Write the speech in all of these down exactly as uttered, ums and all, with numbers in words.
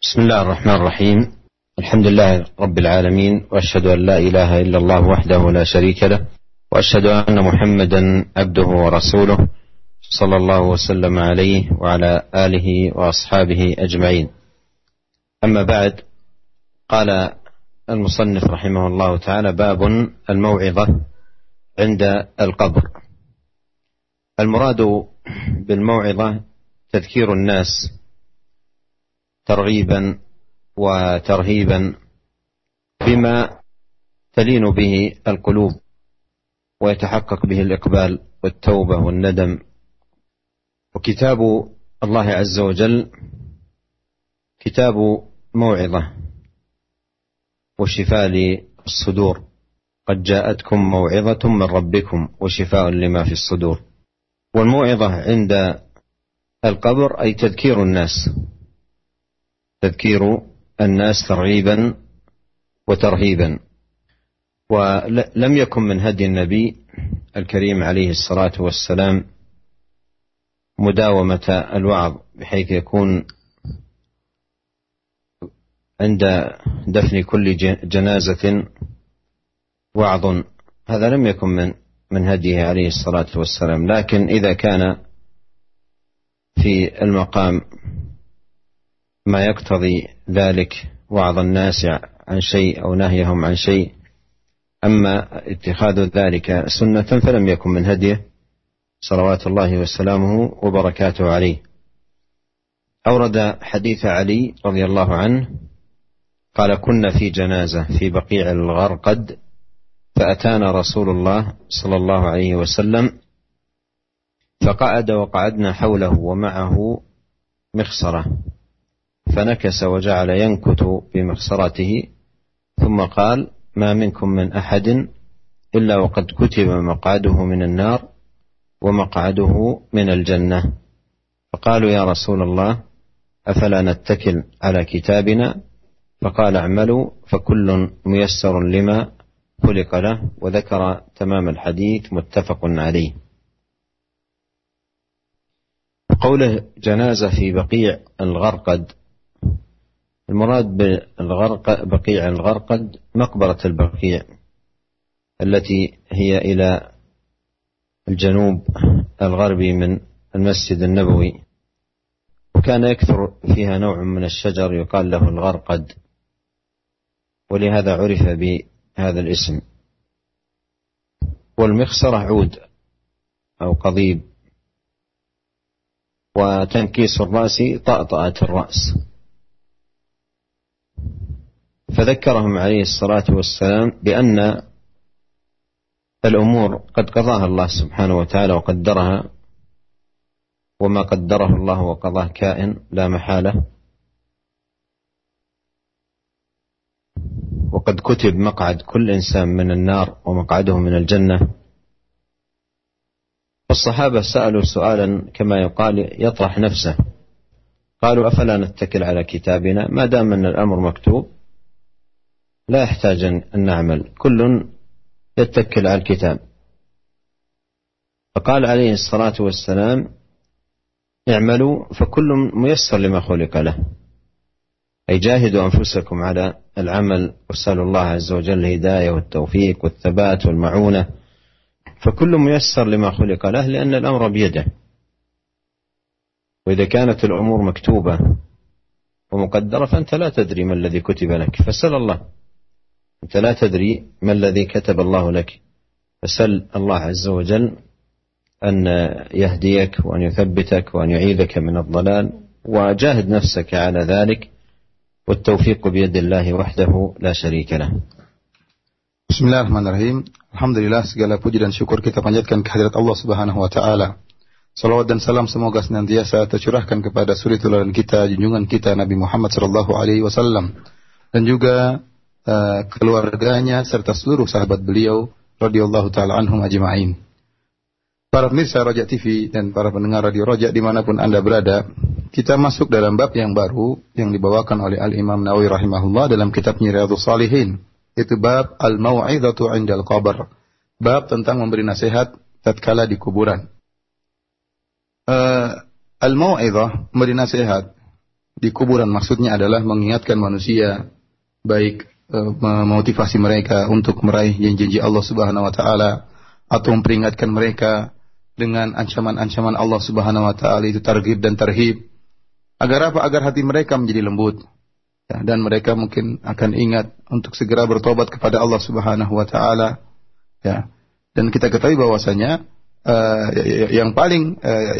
بسم الله الرحمن الرحيم. الحمد لله رب العالمين، وأشهد أن لا إله إلا الله وحده لا شريك له، وأشهد أن محمدا عبده ورسوله صلى الله وسلم عليه وعلى آله وأصحابه أجمعين. أما بعد، قال المصنف رحمه الله تعالى: باب الموعظة عند القبر. المراد بالموعظة تذكير الناس ترغيبا وترهيبا بما تلين به القلوب ويتحقق به الإقبال والتوبة والندم. وكتاب الله عز وجل كتاب موعظة وشفاء للصدور. قد جاءتكم موعظة من ربكم وشفاء لما في الصدور. والموعظة عند القبر أي تذكير الناس تذكير الناس ترغيبا وترهيبا. ولم يكن من هدي النبي الكريم عليه الصلاة والسلام مداومة الوعظ، بحيث يكون عند دفن كل جنازة وعظ. هذا لم يكن من من هديه عليه الصلاة والسلام. لكن إذا كان في المقام ما يقتضي ذلك وعظ الناس عن شيء أو نهيهم عن شيء، أما اتخاذ ذلك سنة فلم يكن من هديه صلوات الله وسلامه وبركاته عليه. أورد حديث علي رضي الله عنه قال: كنا في جنازة في بقيع الغرقد، فأتانا رسول الله صلى الله عليه وسلم فقعد وقعدنا حوله ومعه مخصرة، فنكس وجعل ينكت بمخصرته، ثم قال: ما منكم من أحد إلا وقد كتب مقعده من النار ومقعده من الجنة. فقالوا: يا رسول الله، أفلا نتكل على كتابنا؟ فقال: اعملوا فكل ميسر لما خلق له. وذكر تمام الحديث متفق عليه. قوله جنازة في بقيع الغرقد، المراد بالغرق بقيع الغرقد مقبرة البقيع التي هي إلى الجنوب الغربي من المسجد النبوي، وكان يكثر فيها نوع من الشجر يقال له الغرقد، ولهذا عرف بهذا الاسم. والمخصرة عود أو قضيب، وتنكيس الرأس طأطأة الرأس. فذكرهم عليه الصلاة والسلام بأن الأمور قد قضاها الله سبحانه وتعالى وقدرها، وما قدره الله وقضاه كائن لا محالة، وقد كتب مقعد كل إنسان من النار ومقعده من الجنة. والصحابة سألوا سؤالا كما يقال يطرح نفسه، قالوا: أفلا نتكل على كتابنا؟ ما دام أن الأمر مكتوب لا يحتاج أن نعمل، كل يتكل على الكتاب. فقال عليه الصلاة والسلام: اعملوا فكل ميسر لما خلق له، أي جاهدوا أنفسكم على العمل، واسألوا الله عز وجل الهداية والتوفيق والثبات والمعونة، فكل ميسر لما خلق له، لأن الأمر بيده. وإذا كانت الأمور مكتوبة ومقدرة فأنت لا تدري ما الذي كتب لك، فسل الله. أنت لا تدري ما الذي كتب الله لك، فسل الله عز وجل أن يهديك وأن يثبتك وأن يعيذك من الضلال، وجاهد نفسك على ذلك، والتوفيق بيد الله وحده لا شريك له. Bismillahirrahmanirrahim. Alhamdulillah, segala puji dan syukur kita panjatkan kehadirat Allah Subhanahu wa taala. Salawat dan salam semoga senantiasa tercurahkan kepada suri teladan kita, junjungan kita Nabi Muhammad sallallahu alaihi wasallam, dan juga uh, keluarganya serta seluruh sahabat beliau radhiyallahu taala anhum ajma'in. Para pemirsa Roja T V dan para pendengar Radio Roja dimanapun Anda berada, kita masuk dalam bab yang baru yang dibawakan oleh Al-Imam Nawawi rahimahullah dalam kitabnya Riyadhus Shalihin. Itu bab al-mau'izatu 'indal qabr, bab tentang memberi nasihat tatkala di kuburan. Uh, al-mau'izah, memberi nasihat, di kuburan. Maksudnya adalah mengingatkan manusia, baik e, memotivasi mereka untuk meraih janji-janji Allah Subhanahu wa taala, atau memperingatkan mereka dengan ancaman-ancaman Allah Subhanahu wa taala, itu targhib dan tarhib. Agar apa? Agar hati mereka menjadi lembut. Ya, dan mereka mungkin akan ingat untuk segera bertobat kepada Allah Subhanahu wa taala. Ya. Dan kita ketahui bahwasanya uh, yang paling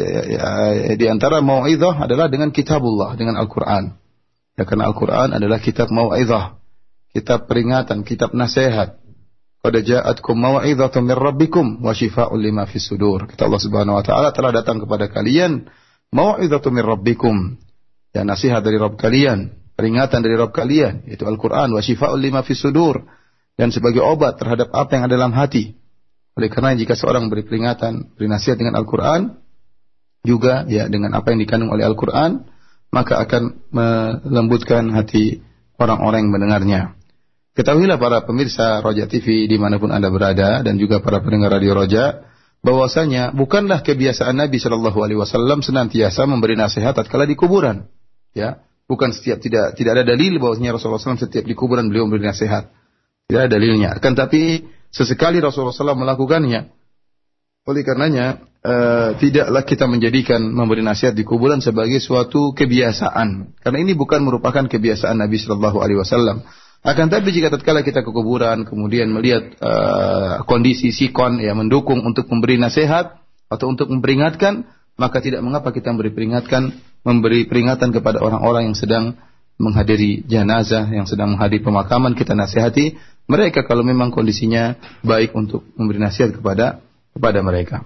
uh, di antara mau'izah adalah dengan kitabullah, dengan Al-Qur'an. Ya, karena Al-Qur'an adalah kitab mau'izah, kitab peringatan, kitab nasihat. Qad ja'atkum mau'izatun min rabbikum wa shifaa'un lima fis sudur. Kata Allah Subhanahu wa taala, telah datang kepada kalian mau'izatun min rabbikum. Ya, nasihat dari Rabb kalian, peringatan dari Rabb kalian, yaitu Al-Quran, wa shifa'ul lima fis sudur, dan sebagai obat terhadap apa yang ada dalam hati. Oleh karena jika seorang beri peringatan, beri nasihat dengan Al-Quran, juga ya dengan apa yang dikandung oleh Al-Quran, maka akan melembutkan hati orang-orang yang mendengarnya. Ketahuilah para pemirsa Roja T V dimanapun Anda berada, dan juga para pendengar Radio Roja, bahwasanya bukanlah kebiasaan Nabi Shallallahu Alaihi Wasallam senantiasa memberi nasihat tatkala di kuburan. Ya, bukan setiap, tidak tidak ada dalil bahwasanya Rasulullah shallallahu alaihi wasallam setiap di kuburan beliau memberi nasihat. Tidak ada dalilnya. Akan tapi sesekali Rasulullah shallallahu alaihi wasallam melakukannya. Oleh karenanya uh, tidaklah kita menjadikan memberi nasihat di kuburan sebagai suatu kebiasaan. Karena ini bukan merupakan kebiasaan Nabi Shallallahu Alaihi Wasallam. Akan tapi jika tatkala kita ke kuburan kemudian melihat uh, kondisi sikon yang mendukung untuk memberi nasihat atau untuk memperingatkan, maka tidak mengapa kita memberi peringatkan, memberi peringatan kepada orang-orang yang sedang menghadiri jenazah, yang sedang menghadiri pemakaman. Kita nasihati mereka kalau memang kondisinya baik untuk memberi nasihat kepada kepada mereka.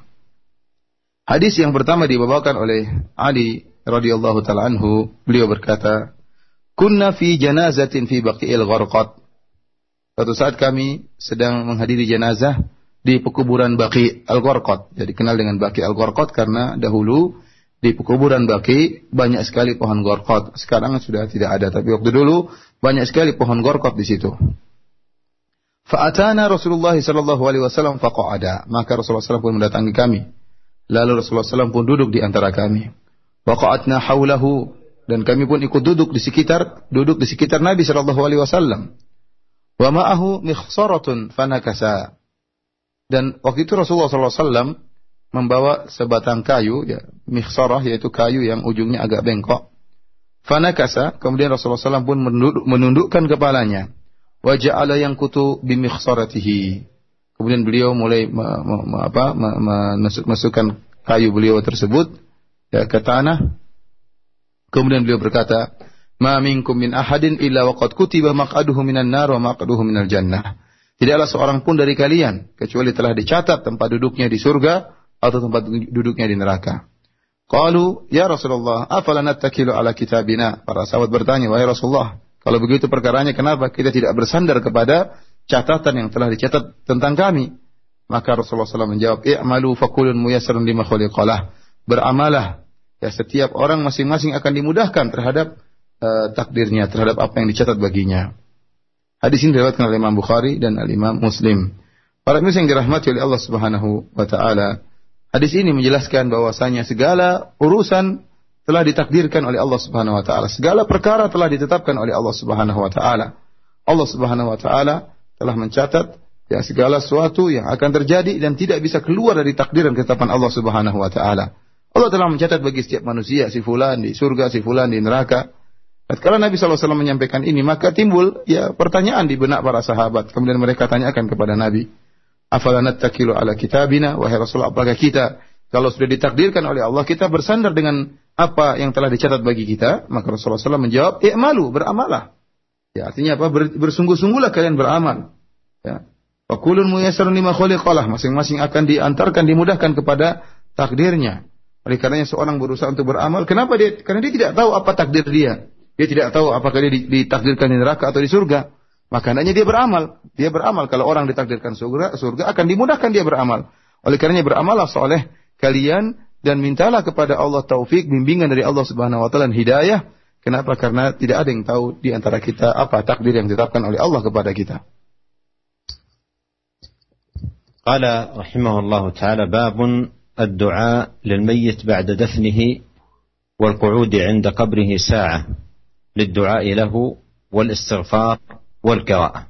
Hadis yang pertama dibawakan oleh Ali radhiyallahu taala anhu, beliau berkata, "Kunna fi janazatin fi Baqi'il Gharqad." Suatu saat kami sedang menghadiri jenazah di pekuburan Baqi' Al-Gharqad. Jadi kenal dengan Baqi' Al-Gharqad karena dahulu di pekuburan Baqi' banyak sekali pohon gharqad. Sekarang sudah tidak ada, tapi waktu dulu banyak sekali pohon gharqad di situ. Fa'atana Rasulullah sallallahu alaihi wasallam faqa'ada. Maka Rasulullah sallallahu alaihi wasallam pun mendatangi kami. Lalu Rasulullah sallallahu alaihi wasallam pun duduk di antara kami. Waqa'atna haulahu, dan kami pun ikut duduk di sekitar duduk di sekitar Nabi sallallahu alaihi wasallam. Wa ma'ahu mikhsaratun fanakasa. Dan waktu itu Rasulullah sallallahu alaihi wasallam membawa sebatang kayu, ya, mikhsarah, yaitu kayu yang ujungnya agak bengkok. Fanakasa, kemudian Rasulullah sallallahu alaihi wasallam pun menunduk, menundukkan kepalanya. Wa ja'ala yankutu bimikhsaratihi. Kemudian beliau mulai me, me, me, apa, me, masukkan kayu beliau tersebut ya, ke tanah. Kemudian beliau berkata, "Ma minkum min ahadin illa waqad kutiba maq'aduhu minan nar wa maq'aduhu minal jannah." Tidaklah seorang pun dari kalian kecuali telah dicatat tempat duduknya di surga atau tempat duduknya di neraka. Qalu, "Ya Rasulullah, afala nattakilu ala kitabina?" Para sahabat bertanya, "Wahai Rasulullah, kalau begitu perkaranya kenapa kita tidak bersandar kepada catatan yang telah dicatat tentang kami?" Maka Rasulullah shallallahu alaihi wasallam menjawab, "I'malu fakulun muyassarun lima khuliqalah." Beramalah, ya, setiap orang masing-masing akan dimudahkan terhadap uh, takdirnya, terhadap apa yang dicatat baginya. Hadis ini diriwayatkan oleh Imam Bukhari dan Al-Imam Muslim. Para muslim yang dirahmati oleh Allah Subhanahu wa taala, hadis ini menjelaskan bahwasanya segala urusan telah ditakdirkan oleh Allah Subhanahu wa taala. Segala perkara telah ditetapkan oleh Allah Subhanahu wa taala. Allah Subhanahu wa taala telah mencatat ya segala sesuatu yang akan terjadi dan tidak bisa keluar dari takdir dan ketetapan Allah Subhanahu wa taala. Allah telah mencatat bagi setiap manusia, si fulan di surga, si fulan di neraka. Kalau Nabi shallallahu alaihi wasallam menyampaikan ini, maka timbul ya pertanyaan di benak para sahabat. Kemudian mereka tanyakan kepada Nabi, "Afala nattakilu ala kitabina?" Wahai Rasulullah, apakah kita kalau sudah ditakdirkan oleh Allah, kita bersandar dengan apa yang telah dicatat bagi kita? Maka Rasulullah shallallahu alaihi wasallam menjawab, "I'malu, beramalah." Ya, artinya apa? Ber, bersungguh-sungguhlah kalian beramal. Ya. Wa kullun muyassarun lima khuliqalah, masing-masing akan diantarkan, dimudahkan kepada takdirnya. Oleh karenanya seorang berusaha untuk beramal. Kenapa dia? Karena dia tidak tahu apa takdir dia. Dia tidak tahu apakah dia ditakdirkan di neraka atau di surga. Maka hendaknya dia beramal. Dia beramal. Kalau orang ditakdirkan surga, surga akan dimudahkan dia beramal. Oleh karenanya beramallah soleh kalian dan mintalah kepada Allah taufik, bimbingan dari Allah Subhanahu wa taala dan hidayah. Kenapa? Karena tidak ada yang tahu di antara kita apa takdir yang ditetapkan oleh Allah kepada kita. Qala rahimahullahu taala babun الدعاء للميت بعد دفنه والقعود عند قبره ساعة للدعاء له والاستغفار والقراءة.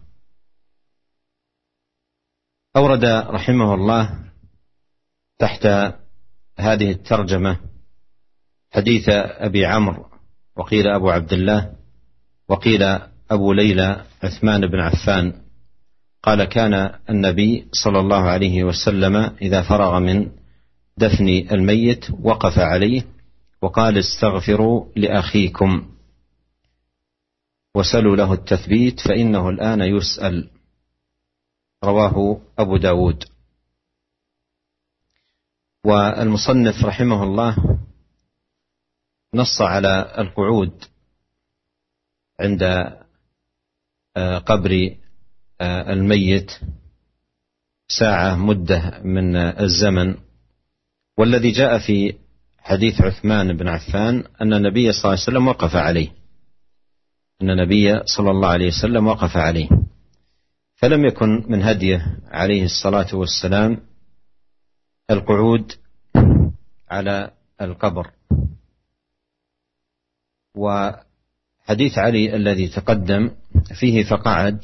أورد رحمه الله تحت هذه الترجمة حديث أبي عمرو، وقيل أبو عبد الله، وقيل أبو ليلى عثمان بن عفان، قال: كان النبي صلى الله عليه وسلم إذا فرغ من دفن الميت وقف عليه وقال: استغفروا لأخيكم وسلوا له التثبيت فإنه الآن يسأل. رواه أبو داود. والمصنف رحمه الله نص على القعود عند قبر الميت ساعة مدة من الزمن، والذي جاء في حديث عثمان بن عفان أن النبي صلى الله عليه وسلم وقف عليه أن النبي صلى الله عليه وسلم وقف عليه فلم يكن من هديه عليه الصلاة والسلام القعود على القبر. وحديث علي الذي تقدم فيه فقعد،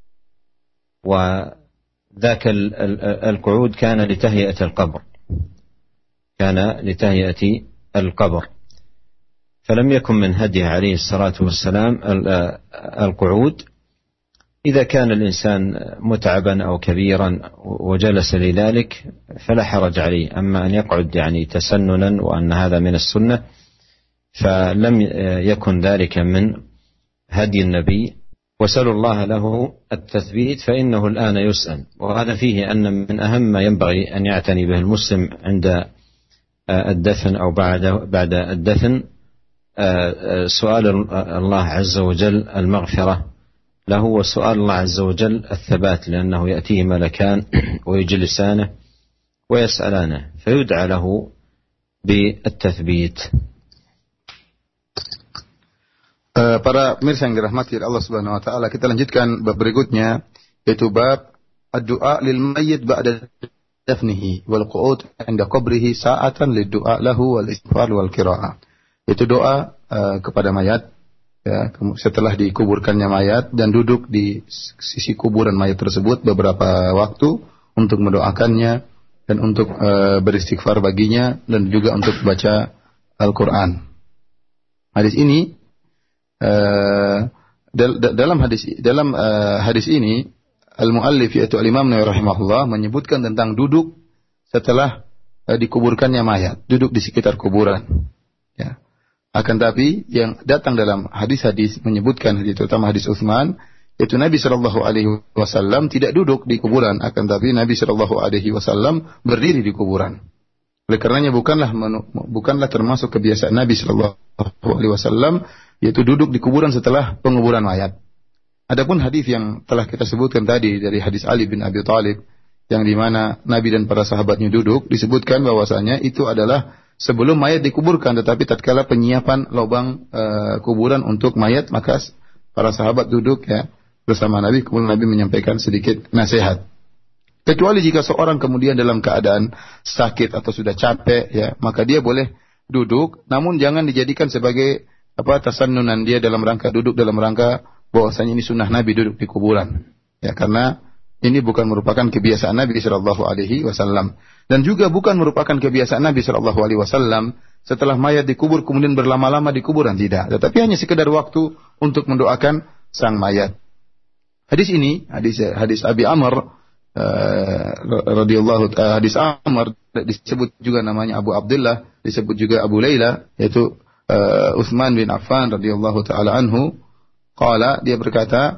وذاك القعود كان لتهيئة القبر كان لتهيئة القبر فلم يكن من هديه عليه الصلاة والسلام القعود. إذا كان الإنسان متعبا أو كبيرا وجلس لذلك فلا حرج عليه، أما أن يقعد يعني تسننا وأن هذا من السنة فلم يكن ذلك من هدي النبي. وسألوا الله له التثبيت فإنه الآن يسأل. وهذا فيه أن من أهم ما ينبغي أن يعتني به المسلم عند الدفن أو بعد بعد الدفن سؤال الله عز وجل المغفرة له، وسؤال الله عز وجل الثبات، لأنه يأتيه ملكان ويجلسانه ويسألانه فيدعى له بالتثبيت. Uh, para pemirsa yang dirahmati Allah Subhanahu wa taala, kita lanjutkan bab berikutnya, yaitu bab ad-du'a lil mayyit ba'da dafnihi wal qu'ud 'inda qabrihi sa'atan lid-du'a lahu wal istighfar wal qira'ah. Itu doa uh, kepada mayat ya, setelah dikuburkannya mayat dan duduk di sisi kuburan mayat tersebut beberapa waktu untuk mendoakannya dan untuk uh, beristighfar baginya dan juga untuk baca Al-Qur'an. Hadis ini Uh, dal- dalam hadis dalam uh, hadis ini al-muallif yaitu al-Imam Nawawi rahimahullah menyebutkan tentang duduk setelah uh, dikuburkannya mayat, duduk di sekitar kuburan. Ya. Akan tapi yang datang dalam hadis-hadis menyebutkan, hadis terutama hadis Utsman, yaitu Nabi sallallahu alaihi wasallam tidak duduk di kuburan, akan tapi Nabi sallallahu alaihi wasallam berdiri di kuburan. Oleh karenanya bukanlah menu, bukanlah termasuk kebiasaan Nabi sallallahu alaihi wasallam yaitu duduk di kuburan setelah penguburan mayat. Adapun hadis yang telah kita sebutkan tadi dari hadis Ali bin Abi Thalib yang di mana Nabi dan para sahabatnya duduk, disebutkan bahwasanya itu adalah sebelum mayat dikuburkan, tetapi tatkala penyiapan lubang uh, kuburan untuk mayat, maka para sahabat duduk ya bersama Nabi, kemudian Nabi menyampaikan sedikit nasihat. Kecuali jika seorang kemudian dalam keadaan sakit atau sudah capek ya, maka dia boleh duduk, namun jangan dijadikan sebagai apa tasannunan dia dalam rangka duduk dalam rangka bahwasanya ini sunnah Nabi duduk di kuburan. Ya, karena ini bukan merupakan kebiasaan Nabi sallallahu alaihi wasallam dan juga bukan merupakan kebiasaan Nabi sallallahu alaihi wasallam setelah mayat dikubur kemudian berlama-lama di kuburan, tidak, tetapi hanya sekedar waktu untuk mendoakan sang mayat. Hadis ini, hadis hadis Abi Amr uh, radhiyallahu uh, hadis Amr disebut juga namanya Abu Abdullah, disebut juga Abu Laila, yaitu Uh, Utsman bin Affan radhiyallahu taala anhu, qala, dia berkata,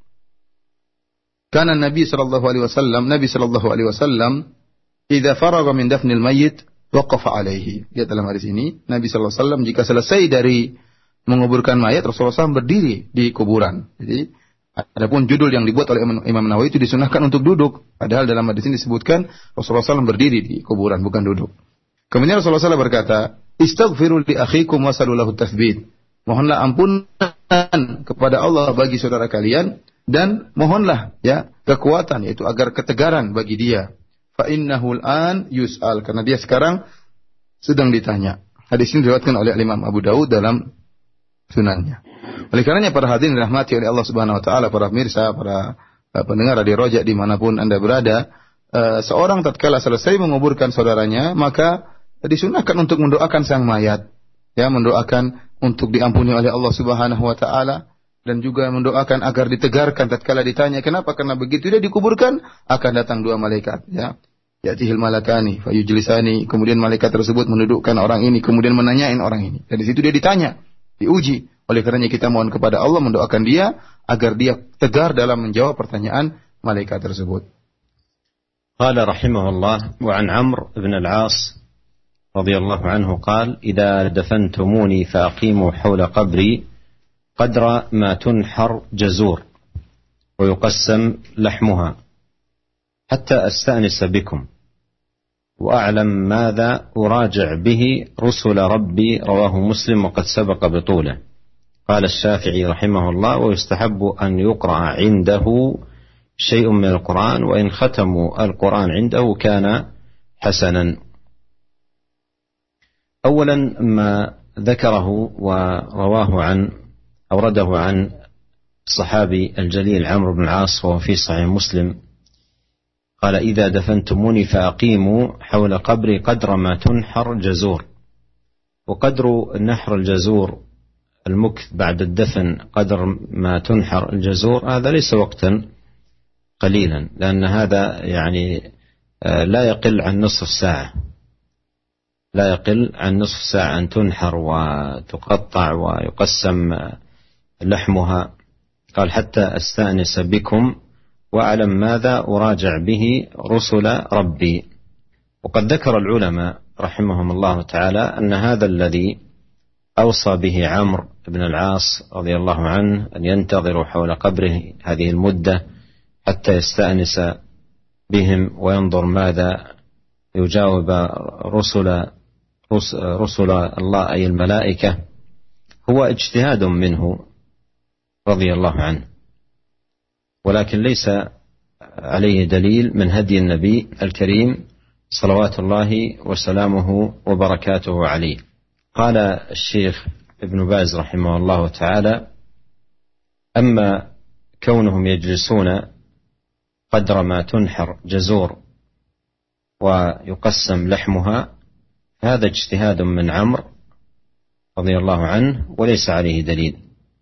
kana Nabi sallallahu alaihi wasallam, Nabi sallallahu alaihi wasallam idza faragha min dafnil mayyit waqafa alaihi. Lihat dalam hadis ini, Nabi sallallahu alaihi wasallam jika selesai dari menguburkan mayat, Rasulullah shallallahu alaihi wasallam berdiri di kuburan. Jadi adapun judul yang dibuat oleh Imam Nawawi itu disunahkan untuk duduk, padahal dalam hadis ini disebutkan Rasulullah shallallahu alaihi wasallam berdiri di kuburan, bukan duduk. Kemudian Rasulullah shallallahu alaihi wasallam berkata, istaghfiru li akhikum wasalu lahu tathbit. Mohonlah ampunan kepada Allah bagi saudara kalian dan mohonlah ya kekuatan, yaitu agar ketegaran bagi dia. Fa innahu al-an yus'al, karena dia sekarang sedang ditanya. Hadis ini diriwayatkan oleh Imam Abu Dawud dalam sunannya. Oleh karenanya para hadirin dirahmati oleh Allah Subhanahu wa taala, para pemirsa, para uh, pendengar Radio Roja dimanapun Anda berada, uh, seorang tatkala selesai menguburkan saudaranya, maka disunahkan untuk mendoakan sang mayat, ya, mendoakan untuk diampuni oleh Allah Subhanahu wa taala, dan juga mendoakan agar ditegarkan tatkala ditanya kenapa, karena begitu dia dikuburkan akan datang dua malaikat, ya. Ya'tihil malakani fayujlisani, kemudian malaikat tersebut mendudukkan orang ini, kemudian menanyain orang ini. Dan di situ dia ditanya, diuji. Oleh karenanya kita mohon kepada Allah mendoakan dia agar dia tegar dalam menjawab pertanyaan malaikat tersebut. Qala rahimahullah wa an Amr ibn al-As radhiyallahu anhu qala idza dafantumuni fa aqimu hawla qabri qadra ma tunhar jazur wa yuqassam lahmuha hatta astanis bikum وأعلم ماذا أراجع به رسل ربي رواه مسلم وقد سبق بطوله. قال الشافعي رحمه الله ويستحب أن يقرأ عنده شيء من القرآن وإن ختموا القرآن عنده كان حسنا. أولا ما ذكره ورواه عن أورده عن الصحابي الجليل عمرو بن العاص وهو في صحيح مسلم قال إذا دفنتموني فأقيموا حول قبري قدر ما تنحر جزور. وقدر نحر الجزور المكث بعد الدفن قدر ما تنحر الجزور هذا ليس وقتا قليلا، لأن هذا يعني لا يقل عن نصف ساعة، لا يقل عن نصف ساعة أن تنحر وتقطع ويقسم لحمها. قال حتى أستأنس بكم وأعلم ماذا أراجع به رسل ربي. وقد ذكر العلماء رحمهم الله تعالى أن هذا الذي أوصى به عمرو بن العاص رضي الله عنه أن ينتظروا حول قبره هذه المدة حتى يستأنس بهم وينظر ماذا يجاوب رسل رسل الله أي الملائكة هو اجتهاد منه رضي الله عنه، ولكن ليس عليه دليل من هدي النبي الكريم صلوات الله وسلامه وبركاته عليه. قال الشيخ ابن باز رحمه الله تعالى أما كونهم يجلسون قدر ما تنحر جزور ويقسم لحمها هذا اجتهاد من عمرو رضي الله عنه وليس عليه دليل.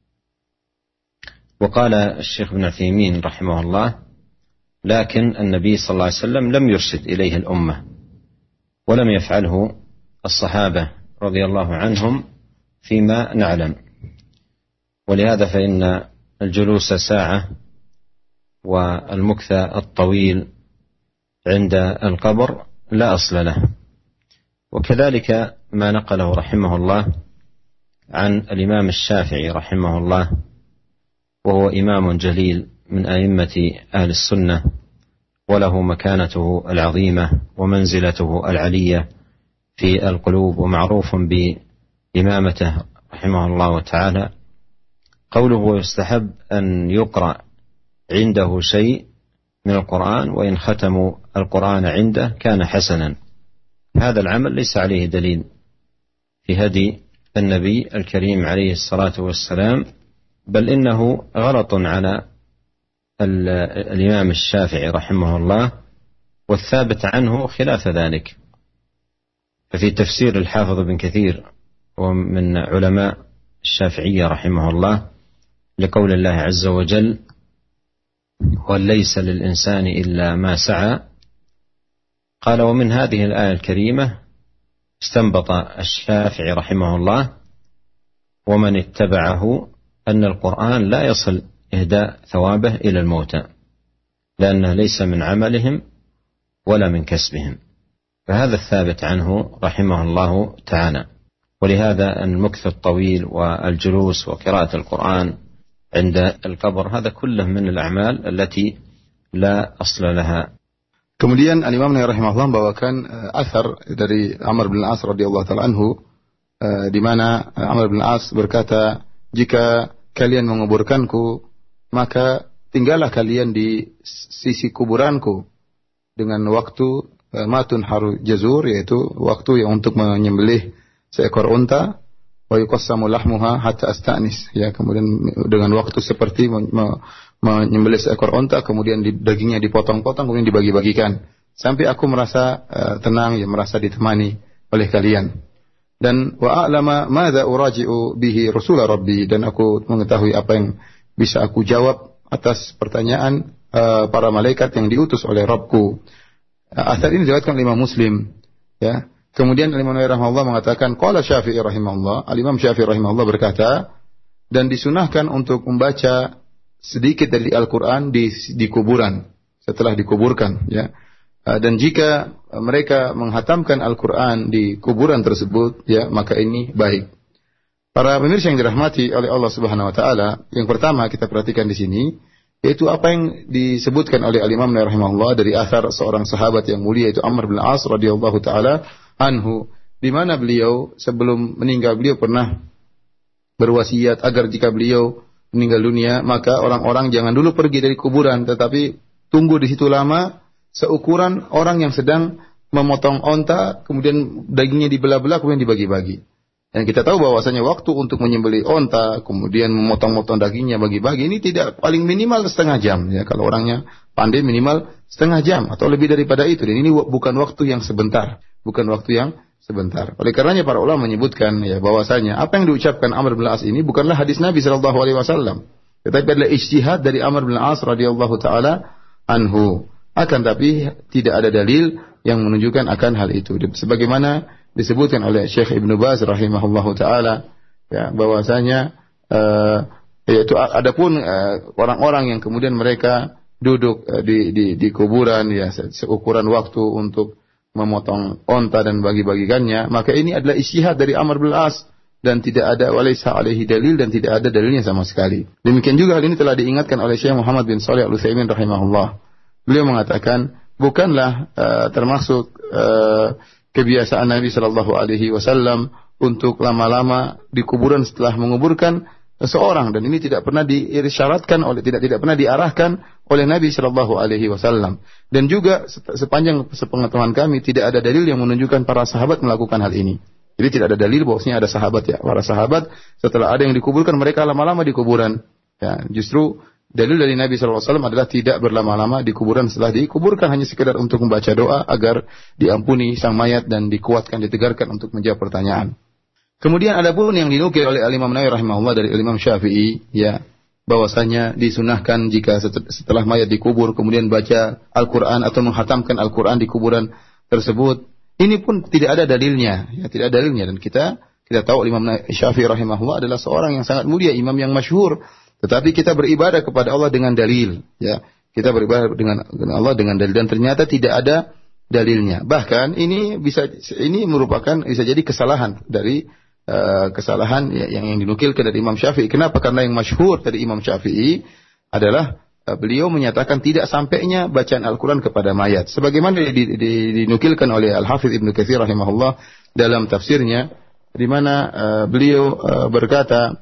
وقال الشيخ ابن عثيمين رحمه الله لكن النبي صلى الله عليه وسلم لم يرشد إليه الأمة ولم يفعله الصحابة رضي الله عنهم فيما نعلم، ولهذا فإن الجلوس ساعة والمكث الطويل عند القبر لا أصل له. وكذلك ما نقله رحمه الله عن الإمام الشافعي رحمه الله وهو إمام جليل من أئمة أهل السنة وله مكانته العظيمة ومنزلته العلية في القلوب ومعروف بإمامته رحمه الله تعالى. قوله ويستحب أن يقرأ عنده شيء من القرآن وإن ختموا القرآن عنده كان حسنا، هذا العمل ليس عليه دليل في هدي النبي الكريم عليه الصلاة والسلام، بل إنه غلط على الإمام الشافعي رحمه الله والثابت عنه خلاف ذلك. ففي تفسير الحافظ بن كثير ومن علماء الشافعية رحمه الله لقول الله عز وجل وليس للإنسان إلا ما سعى، قال ومن هذه الآية الكريمة استنبط الشافعي رحمه الله ومن اتبعه أن القرآن لا يصل إهداء ثوابه إلى الموتى لأنه ليس من عملهم ولا من كسبهم، فهذا الثابت عنه رحمه الله تعالى. ولهذا المكث الطويل والجلوس وقراءة القرآن عند القبر هذا كله من الأعمال التي لا أصل لها. Kemudian Al-Imam Nawawi rahimahullah membawakan uh, athar dari Amr bin Al-As radhiyallahu taala anhu uh, di mana uh, Amr bin Al-As berkata, jika kalian menguburkanku maka tinggallah kalian di sisi kuburanku dengan waktu uh, matun haru jazur, yaitu waktu yang untuk menyembelih seekor unta, wa yuqassamu lahmuha hatta asta'nis, ya, kemudian dengan waktu seperti menyembelih seekor unta, kemudian dagingnya dipotong-potong, kemudian dibagi-bagikan sampai aku merasa uh, tenang, ya, merasa ditemani oleh kalian. Dan wa a'lama madza uraji'u bihi rasul rabbi, dan aku mengetahui apa yang bisa aku jawab atas pertanyaan uh, para malaikat yang diutus oleh Rabbku. Uh, Asar ini diriwayatkan oleh Imam Muslim, ya. Kemudian Imam Nawawi rahimahullah mengatakan, qala Syafi'i rahimahullah, Al-Imam Syafi'i rahimahullah berkata, dan disunahkan untuk membaca sedikit dari Al-Qur'an di di kuburan setelah dikuburkan, ya. Dan jika mereka menghatamkan Al-Quran di kuburan tersebut, ya, maka ini baik. Para pemirsa yang dirahmati oleh Allah Subhanahu Wa Taala, yang pertama kita perhatikan di sini, yaitu apa yang disebutkan oleh Al-Imam Nawawi rahimahullah dari athar seorang sahabat yang mulia, yaitu Amr bin As radhiyallahu taala anhu, di mana beliau sebelum meninggal beliau pernah berwasiat agar jika beliau meninggal dunia, maka orang-orang jangan dulu pergi dari kuburan, tetapi tunggu di situ lama, seukuran orang yang sedang memotong onta, kemudian dagingnya dibelah-belah, kemudian dibagi-bagi. Dan kita tahu bahwasanya waktu untuk menyembelih onta, kemudian memotong-motong dagingnya bagi-bagi, ini tidak, paling minimal setengah jam. Ya, kalau orangnya pandai minimal setengah jam atau lebih daripada itu. Dan ini bukan waktu yang sebentar, bukan waktu yang sebentar. Oleh karenanya para ulama menyebutkan, ya, bahwasanya apa yang diucapkan Amr bin As ini bukanlah hadis Nabi Shallallahu Alaihi Wasallam, tetapi adalah ijtihad dari Amr bin As radhiyallahu taala anhu. Akan tapi tidak ada dalil yang menunjukkan akan hal itu. Sebagaimana disebutkan oleh Syekh Ibnu Baz rahimahullahu taala, ya, bahwasanya uh, yaitu adapun uh, orang-orang yang kemudian mereka duduk uh, di, di di kuburan, ya, seukuran waktu untuk memotong onta dan bagi-bagikannya, maka ini adalah ijtihad dari Amr bin As dan tidak ada walaisa alaihi dalil, dan tidak ada dalilnya sama sekali. Demikian juga hal ini telah diingatkan oleh Syekh Muhammad bin Shalih Al-Utsaimin rahimahullah. Beliau mengatakan, bukanlah uh, termasuk uh, kebiasaan Nabi Shallallahu Alaihi Wasallam untuk lama-lama di kuburan setelah menguburkan seseorang, dan ini tidak pernah diirsyaratkan oleh tidak tidak pernah diarahkan oleh Nabi Shallallahu Alaihi Wasallam. Dan juga sepanjang sepengetahuan kami tidak ada dalil yang menunjukkan para sahabat melakukan hal ini. Jadi tidak ada dalil bahwasanya ada sahabat, ya, para sahabat setelah ada yang dikuburkan mereka lama-lama di kuburan. Ya, justru dalil dari Nabi shallallahu alaihi wasallam adalah tidak berlama-lama di kuburan setelah dikuburkan, hanya sekedar untuk membaca doa agar diampuni sang mayat dan dikuatkan, ditegarkan untuk menjawab pertanyaan. Kemudian ada pun yang dinukil oleh Al-Imam Nawawi rahimahullah dari Al-Imam Syafi'i, ya, bahwasanya disunahkan jika setelah mayat dikubur kemudian baca Al-Quran atau menghatamkan Al-Quran di kuburan tersebut. Ini pun tidak ada dalilnya, ya, tidak ada dalilnya. Dan kita kita tahu Imam Syafi'i rahimahullah adalah seorang yang sangat mulia, imam yang masyhur. Tetapi kita beribadah kepada Allah dengan dalil, ya. Kita beribadah dengan, dengan Allah dengan dalil, dan ternyata tidak ada dalilnya. Bahkan ini bisa ini merupakan bisa jadi kesalahan dari uh, kesalahan, ya, yang yang dinukilkan dari Imam Syafi'i. Kenapa? Karena yang masyhur dari Imam Syafi'i adalah uh, beliau menyatakan tidak sampainya bacaan Al-Qur'an kepada mayat. Sebagaimana di, di, dinukilkan oleh Al-Hafidz Ibnu Katsir rahimahullah dalam tafsirnya, di mana uh, beliau uh, berkata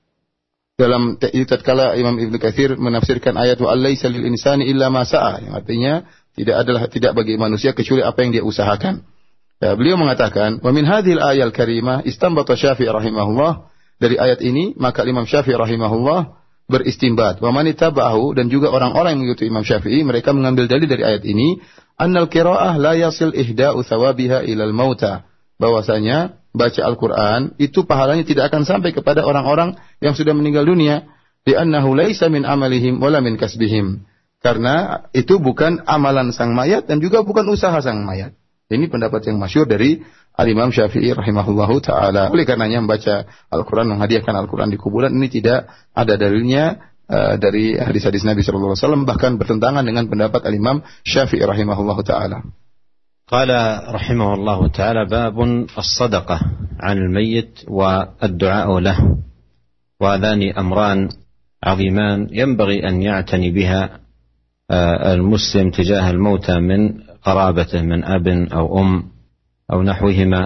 dalam tatkala Imam Ibnu Katsir menafsirkan ayat wa allaisa lil insani illa ma sa'a, yang artinya tidak adalah tidak bagi manusia kecuali apa yang dia usahakan. Ya, beliau mengatakan wa min hadhil ayal karimah istanbata Syafi'i rahimahullah, dari ayat ini maka Imam Syafi'i rahimahullah beristinbat, wa man ittaba'ahu, dan juga orang-orang yang mengikuti Imam Syafi'i mereka mengambil dalil dari ayat ini, annal qiraa'ah la yasil ihda'u thawabiha ilal mauta, bahwasanya baca Al-Quran itu pahalanya tidak akan sampai kepada orang-orang yang sudah meninggal dunia, li'annahu laisa min amalihim wala min kasbihim, karena itu bukan amalan sang mayat dan juga bukan usaha sang mayat. Ini pendapat yang masyhur dari Al-Imam Syafi'i rahimahullahu ta'ala. Oleh karenanya membaca Al-Quran, menghadiahkan Al-Quran di kuburan ini tidak ada dalilnya uh, dari hadis-hadis Nabi shallallahu alaihi wasallam, bahkan bertentangan dengan pendapat Al-Imam Syafi'i rahimahullahu ta'ala. قال رحمه الله تعالى باب الصدقة عن الميت والدعاء له، وهذان أمران عظيمان ينبغي أن يعتني بها المسلم تجاه الموتى من قرابته من أب أو أم أو نحوهما،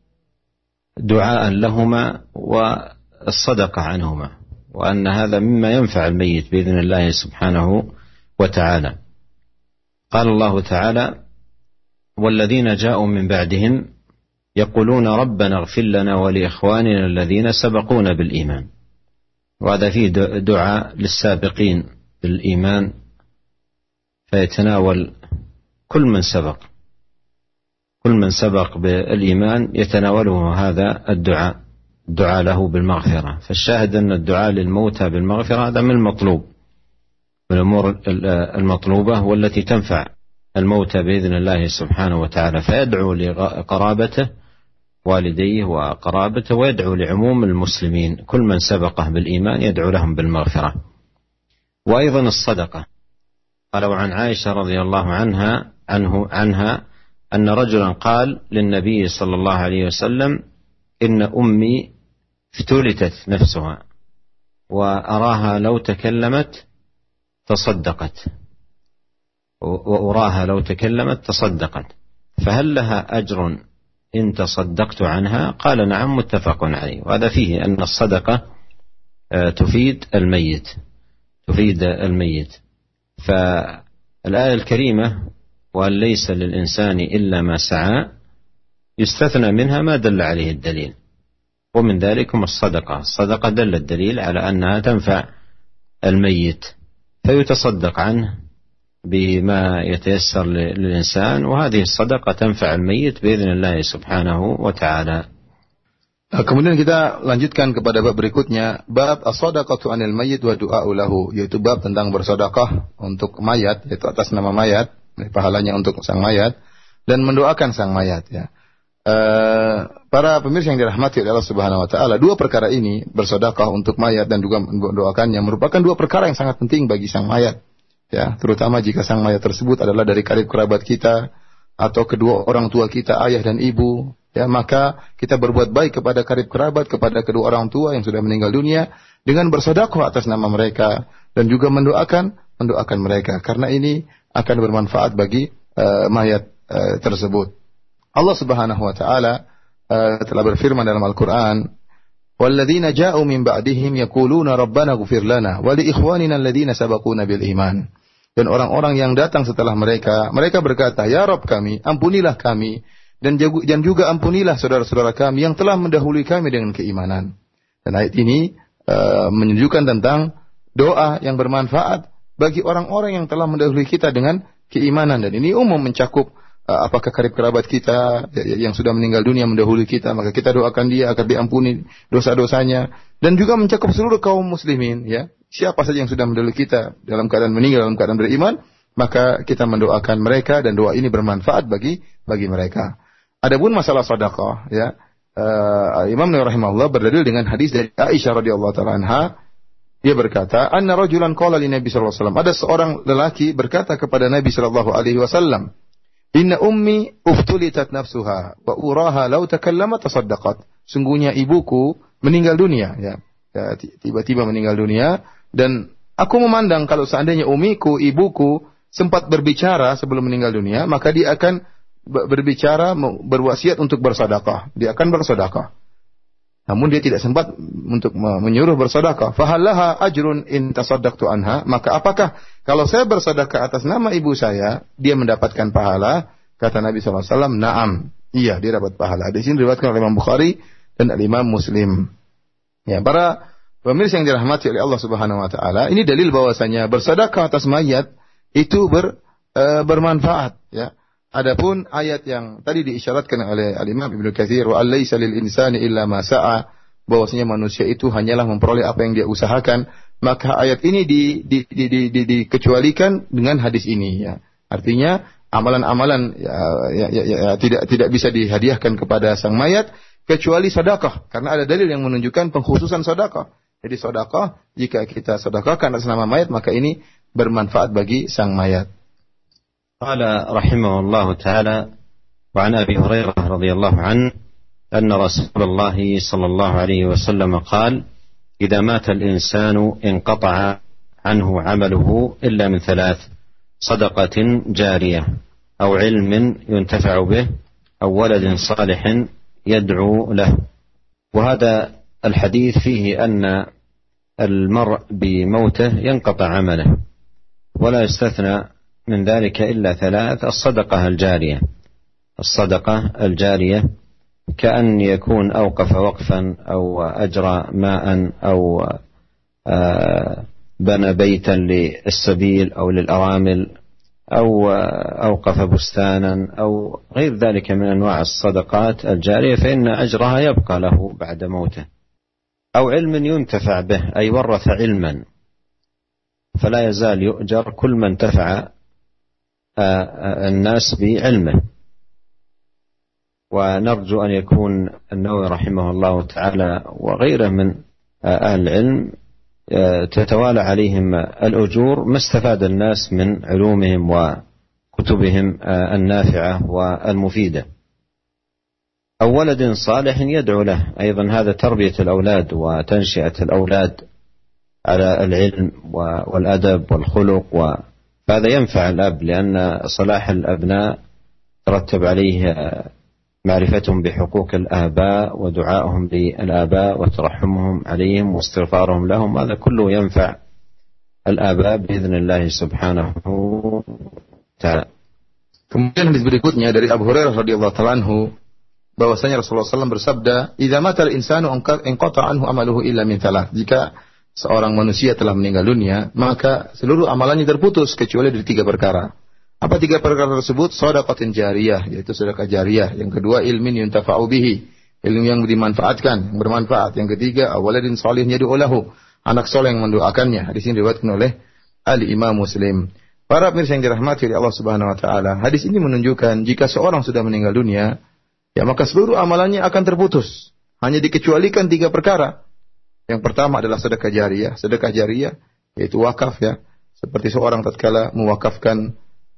دعاء لهما والصدقة عنهما، وأن هذا مما ينفع الميت بإذن الله سبحانه وتعالى. قال الله تعالى والذين جاءوا من بعدهم يقولون ربنا اغفر لنا ولإخواننا الذين سبقونا بالإيمان. وهذا فيه دعاء للسابقين بالإيمان، فيتناول كل من سبق كل من سبق بالإيمان يتناوله هذا الدعاء، الدعاء له بالمغفرة. فالشاهد أن الدعاء للموتى بالمغفرة هذا من المطلوب، من الأمور المطلوبة والتي تنفع الموتى بإذن الله سبحانه وتعالى. فيدعو لقرابته والديه وقرابته، ويدعو لعموم المسلمين كل من سبقه بالإيمان يدعو لهم بالمغفرة. وأيضا الصدقة، قالوا عن عائشة رضي الله عنها عنه عنها أن رجلا قال للنبي صلى الله عليه وسلم إن أمي افتلتت نفسها وأراها لو تكلمت تصدقت وأراها لو تكلمت تصدقت فهل لها أجر إن تصدقت عنها؟ قال نعم، متفق عليه. وهذا فيه أن الصدقة تفيد الميت تفيد الميت فالآية الكريمة وأن ليس للإنسان إلا ما سعى يستثنى منها ما دل عليه الدليل، ومن ذلكم الصدقة. الصدقة دل الدليل على أنها تنفع الميت فيتصدق عنه بما يتيسر للإنسان، وهذه الصدقة تنفع الميت بإذن الله سبحانه وتعالى. Kemudian kita lanjutkan kepada bab berikutnya, bab as-shadaqatu 'anil mayyit wa du'a'u lahu, yaitu bab tentang bersedekah untuk mayat, yaitu atas nama mayat, pahalanya untuk sang mayat dan mendoakan sang mayat, ya. Uh, para pemirsa yang dirahmati oleh Allah Subhanahu wa taala, dua perkara ini, bersedekah untuk mayat dan juga mendoakannya, merupakan dua perkara yang sangat penting bagi sang mayat, ya, terutama jika sang mayat tersebut adalah dari karib kerabat kita atau kedua orang tua kita, ayah dan ibu, ya, maka kita berbuat baik kepada karib kerabat, kepada kedua orang tua yang sudah meninggal dunia dengan bersedekah atas nama mereka dan juga mendoakan mendoakan mereka, karena ini akan bermanfaat bagi uh, mayat uh, tersebut. Allah Subhanahu wa taala uh, telah berfirman dalam Al-Qur'an, "Walladzina ja'u min ba'dihim yaquluna rabbana ighfir lana wa li ikhwanina alladhina sabaquna bil iman." Dan orang-orang yang datang setelah mereka, mereka berkata, "Ya Rabb kami, ampunilah kami dan juga ampunilah saudara-saudara kami yang telah mendahului kami dengan keimanan." Dan ayat ini uh, menunjukkan tentang doa yang bermanfaat bagi orang-orang yang telah mendahului kita dengan keimanan, dan ini umum mencakup uh, apakah karib kerabat kita yang sudah meninggal dunia mendahului kita, maka kita doakan dia agar diampuni dosa-dosanya, dan juga mencakup seluruh kaum muslimin, ya. Siapa saja yang sudah mendahului kita dalam keadaan meninggal dalam keadaan beriman, maka kita mendoakan mereka dan doa ini bermanfaat bagi bagi mereka. Adapun masalah sedekah, ya, uh, Imam Nawawi rahimahullah berdalil dengan hadis dari Aisyah radhiyallahu taala anha. Dia berkata, "Anna rajulan qala li Nabi sallallahu alaihi wasallam." Ada seorang lelaki berkata kepada Nabi sallallahu alaihi wasallam, "Inna ummi uftulitat nafsuha wa uraha law takallamat tasaddaqat." Sungguhnya ibuku meninggal dunia, ya. Ya, tiba-tiba meninggal dunia, dan aku memandang kalau seandainya umiku, ibuku sempat berbicara sebelum meninggal dunia, maka dia akan berbicara, berwasiat untuk bersedekah. Dia akan bersedekah. Namun dia tidak sempat untuk menyuruh bersedekah. Fahallaha ajrun in tasaddaqtu anha, maka apakah kalau saya bersedekah atas nama ibu saya, dia mendapatkan pahala? Kata Nabi sallallahu alaihi wasallam, "Na'am." Iya, dia dapat pahala. Di sini diriwayatkan oleh Imam Bukhari dan Imam Muslim. Ya, para pemirsa yang dirahmati oleh Allah Subhanahu wa taala, ini dalil bahwasanya bersedekah atas mayat itu ber, e, bermanfaat, ya. Adapun ayat yang tadi diisyaratkan oleh Al-Imam Ibnu Katsir, wa alaysa lil insani illa ma sa'a, bahwasanya manusia itu hanyalah memperoleh apa yang dia usahakan, maka ayat ini di, di, di, di, di, dikecualikan dengan hadis ini, ya. Artinya amalan-amalan ya, ya, ya, ya, tidak tidak bisa dihadiahkan kepada sang mayat kecuali sedekah, karena ada dalil yang menunjukkan pengkhususan sedekah. Jadi sedekah, jika kita sedekahkan atas nama mayat, maka ini bermanfaat bagi sang mayat. قال رحمه الله تعالى وعن أبي هريرة رضي الله عنه أن رسول الله صلى الله عليه وسلم قال إذا مات الإنسان انقطع عنه عمله إلا من ثلاث صدقة جارية أو علم ينتفع به أو ولد صالح يدعو له. وهذا الحديث فيه أن المرء بموته ينقطع عمله ولا يستثنى من ذلك إلا ثلاث: الصدقة الجارية الصدقة الجارية كأن يكون أوقف وقفا أو أجرى ماء أو بنى بيتا للسبيل أو للأرامل أو أوقف بستانا أو غير ذلك من أنواع الصدقات الجارية، فإن أجرها يبقى له بعد موته. أو علم ينتفع به، أي ورث علما، فلا يزال يؤجر كل من انتفع الناس بعلمه. ونرجو أن يكون النووي رحمه الله تعالى وغيره من أهل العلم تتوالى عليهم الأجور ما استفاد الناس من علومهم وكتبهم النافعة والمفيدة. أو ولد صالح يدعو له، أيضا هذا تربية الأولاد وتنشئة الأولاد على العلم والأدب والخلق، وهذا ينفع الأب، لأن صلاح الأبناء ترتب عليه معرفتهم بحقوق الآباء ودعائهم للآباء وترحمهم عليهم واستغفارهم لهم، هذا كله ينفع الآباء بإذن الله سبحانه وتعالى. Kemudian hadis berikutnya dari Abu Hurairah radhiyallahu ta'ala anhu bahwasanya Rasulullah shallallahu alaihi wasallam bersabda, "Idza matal insanu inqata anhu amaluhu illa min thalath." Jika seorang manusia telah meninggal dunia, maka seluruh amalannya terputus kecuali dari tiga perkara. Apa tiga perkara tersebut? Shadaqatin jariyah, yaitu sedekah jariyah. Yang kedua, ilmin yuntafa'u bihi, ilmu yang dimanfaatkan, yang bermanfaat. Yang ketiga, awaladin shalih yad'u lahu, anak soleh yang mendoakannya. Hadis ini diriwayatkan oleh Al-Imam Muslim. Para pemirsa yang dirahmati oleh Allah Subhanahu wa taala, hadis ini menunjukkan jika seorang sudah meninggal dunia, ya maka seluruh amalannya akan terputus. Hanya dikecualikan tiga perkara. Yang pertama adalah sedekah jariyah. Sedekah jariyah yaitu wakaf, ya. Seperti seorang tatkala mewakafkan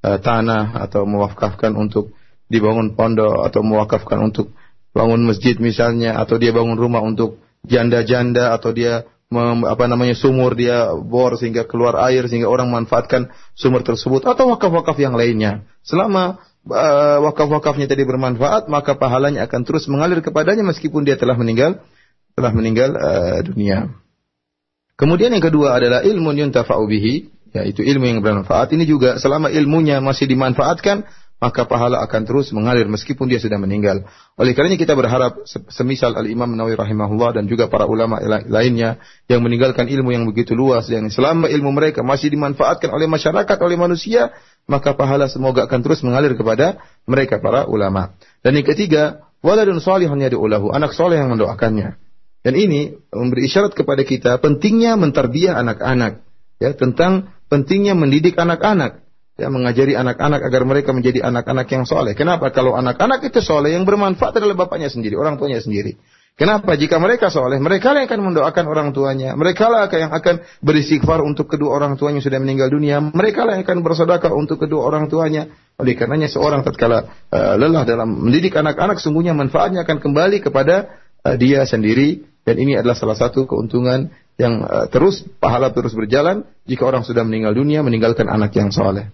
tanah atau mewakafkan untuk dibangun pondok atau mewakafkan untuk bangun masjid misalnya, atau dia bangun rumah untuk janda-janda, atau dia mem, apa namanya sumur dia bor sehingga keluar air sehingga orang memanfaatkan sumur tersebut, atau wakaf-wakaf yang lainnya. Selama uh, wakaf-wakafnya tadi bermanfaat, maka pahalanya akan terus mengalir kepadanya meskipun dia telah meninggal telah meninggal uh, dunia. Kemudian yang kedua adalah ilmun yuntafa'u bihi, yaitu ilmu yang bermanfaat. Ini juga selama ilmunya masih dimanfaatkan, maka pahala akan terus mengalir meskipun dia sudah meninggal. Oleh karenanya kita berharap semisal Al-Imam Nawawi rahimahullah dan juga para ulama lainnya yang meninggalkan ilmu yang begitu luas, yang selama ilmu mereka masih dimanfaatkan oleh masyarakat, oleh manusia, maka pahala semoga akan terus mengalir kepada mereka para ulama. Dan yang ketiga, waladun shalihun yad'u lahu, anak soleh yang mendoakannya. Dan ini memberi isyarat kepada kita pentingnya mentarbiyah anak-anak, ya, tentang pentingnya mendidik anak-anak, ya, mengajari anak-anak agar mereka menjadi anak-anak yang soleh. Kenapa? Kalau anak-anak itu soleh, yang bermanfaat adalah bapaknya sendiri, orang tuanya sendiri. Kenapa? Jika mereka soleh, mereka lah yang akan mendoakan orang tuanya, mereka lah yang akan beristighfar untuk kedua orang tuanya yang sudah meninggal dunia, mereka lah yang akan bersedekah untuk kedua orang tuanya. Oleh karenanya seorang tatkala uh, lelah dalam mendidik anak-anak, sungguhnya manfaatnya akan kembali kepada uh, dia sendiri. Dan ini adalah salah satu keuntungan yang uh, terus, pahala terus berjalan jika orang sudah meninggal dunia meninggalkan anak yang soleh.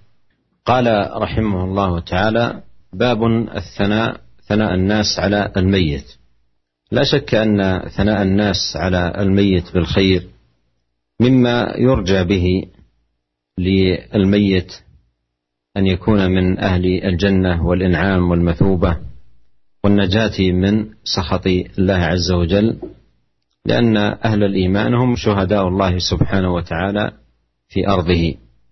Qala rahimahullah ta'ala, babun al-thana, thana an-nas ala al-mayyit. لا شك أن ثناء الناس على الميت بالخير مما يرجى به للميت أن يكون من أهل الجنة والإنعام والمثوبة والنجاة من سخط الله عز وجل، لأن أهل الإيمان هم شهداء الله سبحانه وتعالى في أرضه.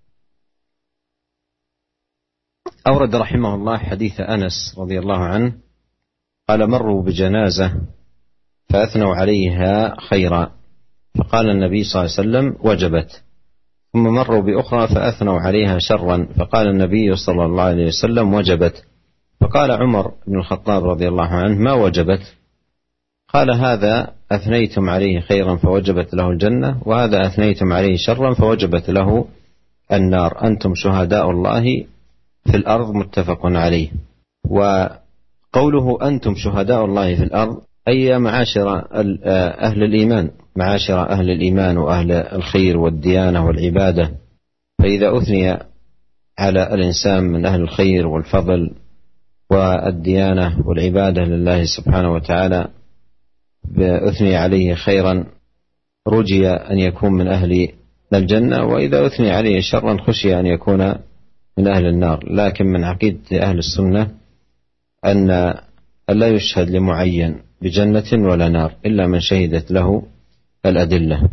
أورد رحمه الله حديث أنس رضي الله عنه قال: مروا بجنازة فأثنوا عليها خيرا، فقال النبي صلى الله عليه وسلم: وجبت. ثم مروا بأخرى فأثنوا عليها شرا، فقال النبي صلى الله عليه وسلم: وجبت. فقال عمر بن الخطاب رضي الله عنه: ما وجبت؟ قال: هذا أثنيتم عليه خيرا فوجبت له الجنة، وهذا أثنيتم عليه شرا فوجبت له النار، أنتم شهداء الله في الأرض، متفق عليه. وقوله أنتم شهداء الله في الأرض أي معاشر أهل الإيمان، معاشر أهل الإيمان وأهل الخير والديانة والعبادة. فإذا أثني على الإنسان من أهل الخير والفضل والديانة والعبادة لله سبحانه وتعالى، أثني عليه خيرا رجي أن يكون من أهل الجنة، وإذا أثني عليه شرا خشي أن يكون من أهل النار. لكن من عقيدة أهل السنة أن ألا يشهد لمعين بجنة ولا نار إلا من شهدت له الأدلة.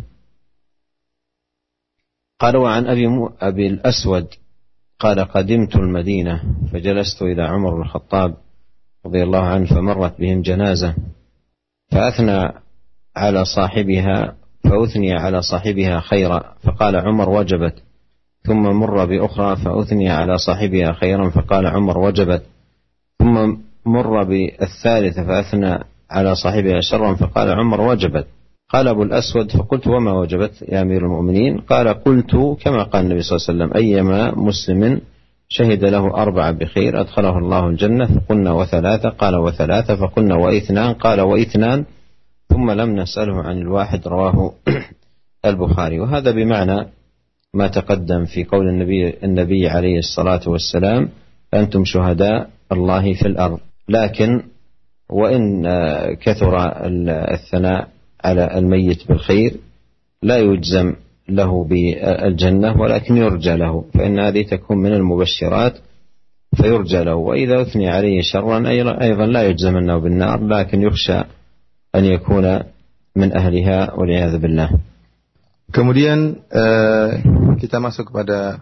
قال وعن أبي, أبي الأسود قال قدمت المدينة فجلست إلى عمر بن الخطاب رضي الله عنه فمرت بهم جنازة فأثنى على صاحبها فأثني على صاحبها خيرا فقال عمر وجبت، ثم مر بأخرى فأثني على صاحبها خيرا فقال عمر وجبت، ثم مر بالثالثة فأثنى على صاحبها شرا فقال عمر وجبت. قال أبو الأسود فقلت وما وجبت يا أمير المؤمنين؟ قال قلت كما قال النبي صلى الله عليه وسلم أيما مسلم شهد له أربعة بخير أدخله الله الجنة، فقلنا وثلاثة، قال وثلاثة، فقلنا وإثنان، قال وإثنان، ثم لم نسأله عن الواحد، رواه البخاري. وهذا بمعنى ما تقدم في قول النبي, النبي عليه الصلاة والسلام أنتم شهداء الله في الأرض. لكن وإن كثر الثناء على الميت بالخير لا يجزم له بالجنة ولكن يرجى له، فإن هذه تكون من المبشرات فيرجى له. وإذا أثني عليه شرا أيضا لا يجزم أنه بالنار لكن يخشى أن يكون من أهلها والعياذ بالله. Kemudian uh, kita masuk kepada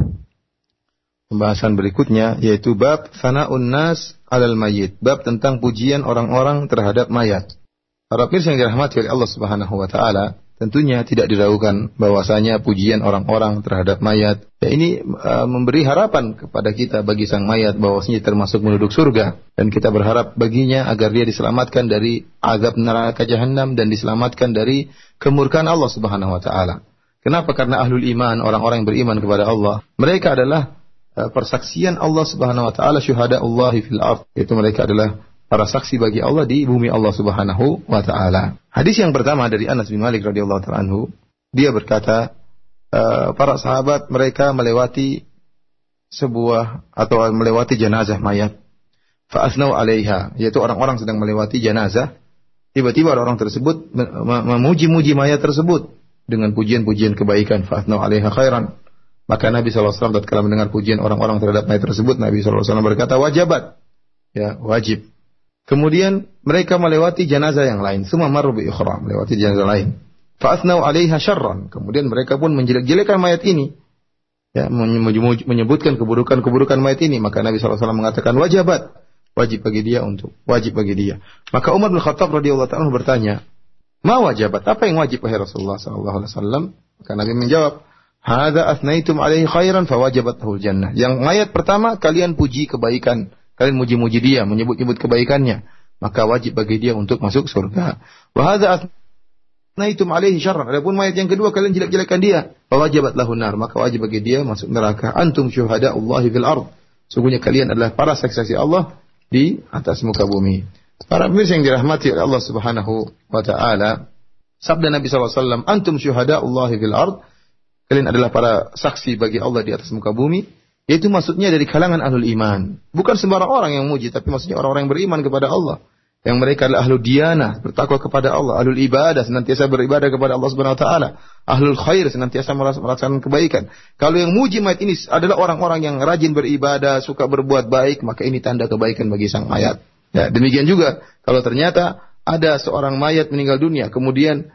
pembahasan berikutnya, yaitu bab sana'un nas 'alal mayyit, bab tentang pujian orang-orang terhadap mayat. Para pemirsa yang dirahmati oleh Allah Subhanahu wa taala, tentunya tidak diragukan bahwasanya pujian orang-orang terhadap mayat ya ini uh, memberi harapan kepada kita bagi sang mayat bahwasanya termasuk penduduk surga, dan kita berharap baginya agar dia diselamatkan dari azab neraka jahanam dan diselamatkan dari kemurkaan Allah Subhanahu wa taala. Kenapa? Karena ahlul iman, orang-orang yang beriman kepada Allah, mereka adalah uh, persaksian Allah Subhanahu wa taala, syuhada'ullahi fil ardh, yaitu mereka adalah para saksi bagi Allah di bumi Allah Subhanahu wa taala. Hadis yang pertama dari Anas bin Malik radhiyallahu ta'ala anhu, dia berkata, e, para sahabat mereka melewati sebuah atau melewati jenazah mayat. Fa asnau 'alaiha, yaitu orang-orang sedang melewati jenazah. Tiba-tiba orang tersebut memuji-muji mayat tersebut dengan pujian-pujian kebaikan. Fa asnau 'alaiha khairan. Maka Nabi sallallahu alaihi wasallam tatkala mendengar pujian orang-orang terhadap mayat tersebut, Nabi sallallahu alaihi wasallam berkata, wajabat. Ya, wajib. Kemudian mereka melewati jenazah yang lain, semua marru bi ukhra, melewati jenazah lain. Fa asnau 'alaiha syarran, kemudian mereka pun menjelek-jelekan mayat ini. Ya, menyebutkan keburukan-keburukan mayat ini, maka Nabi sallallahu alaihi wasallam mengatakan wajabat, wajib bagi dia untuk wajib bagi dia. Maka Umar bin Khattab radhiyallahu ta'ala bertanya, "Ma wajabat? Apa yang wajib wahai Rasulullah sallallahu alaihi wasallam?" Maka Nabi menjawab, "Hadza asnaitum 'alaihi khairan fa wajabat lahul jannah." Yang mayat pertama kalian puji kebaikan, kalian muji-muji dia, menyebut-nyebut kebaikannya, maka wajib bagi dia untuk masuk surga. Wa hadza asnaitum 'alaihi syarran. Adapun mayat yang kedua kalian jelek-jelekkan dia, fa wajabat lahun nar, maka wajib bagi dia masuk neraka. Antum syuhada'ullahi fil ardh. Sungguhnya kalian adalah para saksi-saksi Allah di atas muka bumi. Para pemirsa yang dirahmati oleh Allah Subhanahu wa taala, sabda Nabi sallallahu alaihi wasallam, antum syuhada'ullahi fil ardh. Kalian adalah para saksi bagi Allah di atas muka bumi. Itu maksudnya dari kalangan ahlul iman. Bukan sembarang orang yang muji, tapi maksudnya orang-orang yang beriman kepada Allah. Yang mereka adalah ahlul diyanah, bertakwa kepada Allah. Ahlul ibadah, senantiasa beribadah kepada Allah Subhanahu wa taala. Ahlul khair, senantiasa melaksanakan kebaikan. Kalau yang muji mayat ini adalah orang-orang yang rajin beribadah, suka berbuat baik, maka ini tanda kebaikan bagi sang mayat. Ya, demikian juga kalau ternyata ada seorang mayat meninggal dunia, kemudian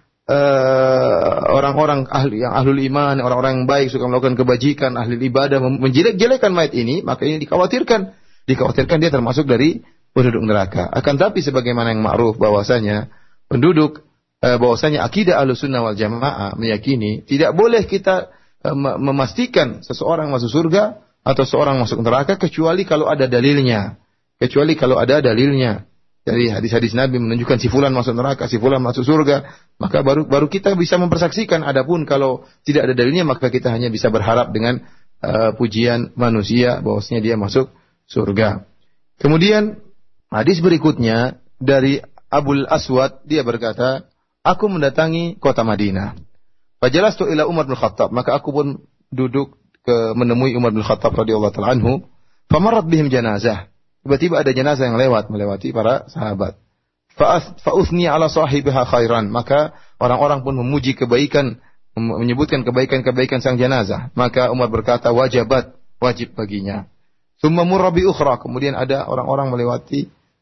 Uh, orang-orang ahli yang ahlul iman, orang-orang yang baik suka melakukan kebajikan, ahli ibadah menjelek-jelekan mayat ini, maka ini dikhawatirkan, dikhawatirkan dia termasuk dari penduduk neraka. Akan tapi sebagaimana yang ma'ruf bahwasanya penduduk uh, bahwasanya akidah Ahlussunnah wal Jamaah meyakini tidak boleh kita uh, memastikan seseorang masuk surga atau seorang masuk neraka kecuali kalau ada dalilnya, kecuali kalau ada dalilnya. Jadi hadis-hadis Nabi menunjukkan si fulan masuk neraka, si fulan masuk surga, maka baru baru kita bisa mempersaksikan. Adapun kalau tidak ada dalilnya, maka kita hanya bisa berharap dengan uh, pujian manusia bahwasanya dia masuk surga. Kemudian hadis berikutnya dari Abul Aswad, dia berkata, aku mendatangi kota Madinah. Fajalastu ila Umar bin Khattab, maka aku pun duduk ke menemui Umar bin Khattab radhiyallahu ta'ala anhu. Famarrat bihim janazah. Tiba-tiba ada jenazah yang lewat, melewati para sahabat. Fa'uthni ala sahibiha khairan. Maka orang-orang pun memuji kebaikan, menyebutkan kebaikan-kebaikan sang jenazah. Maka Umar berkata, wajabat, wajib baginya. Tsumma murra bi ukhra. Kemudian ada orang-orang melewati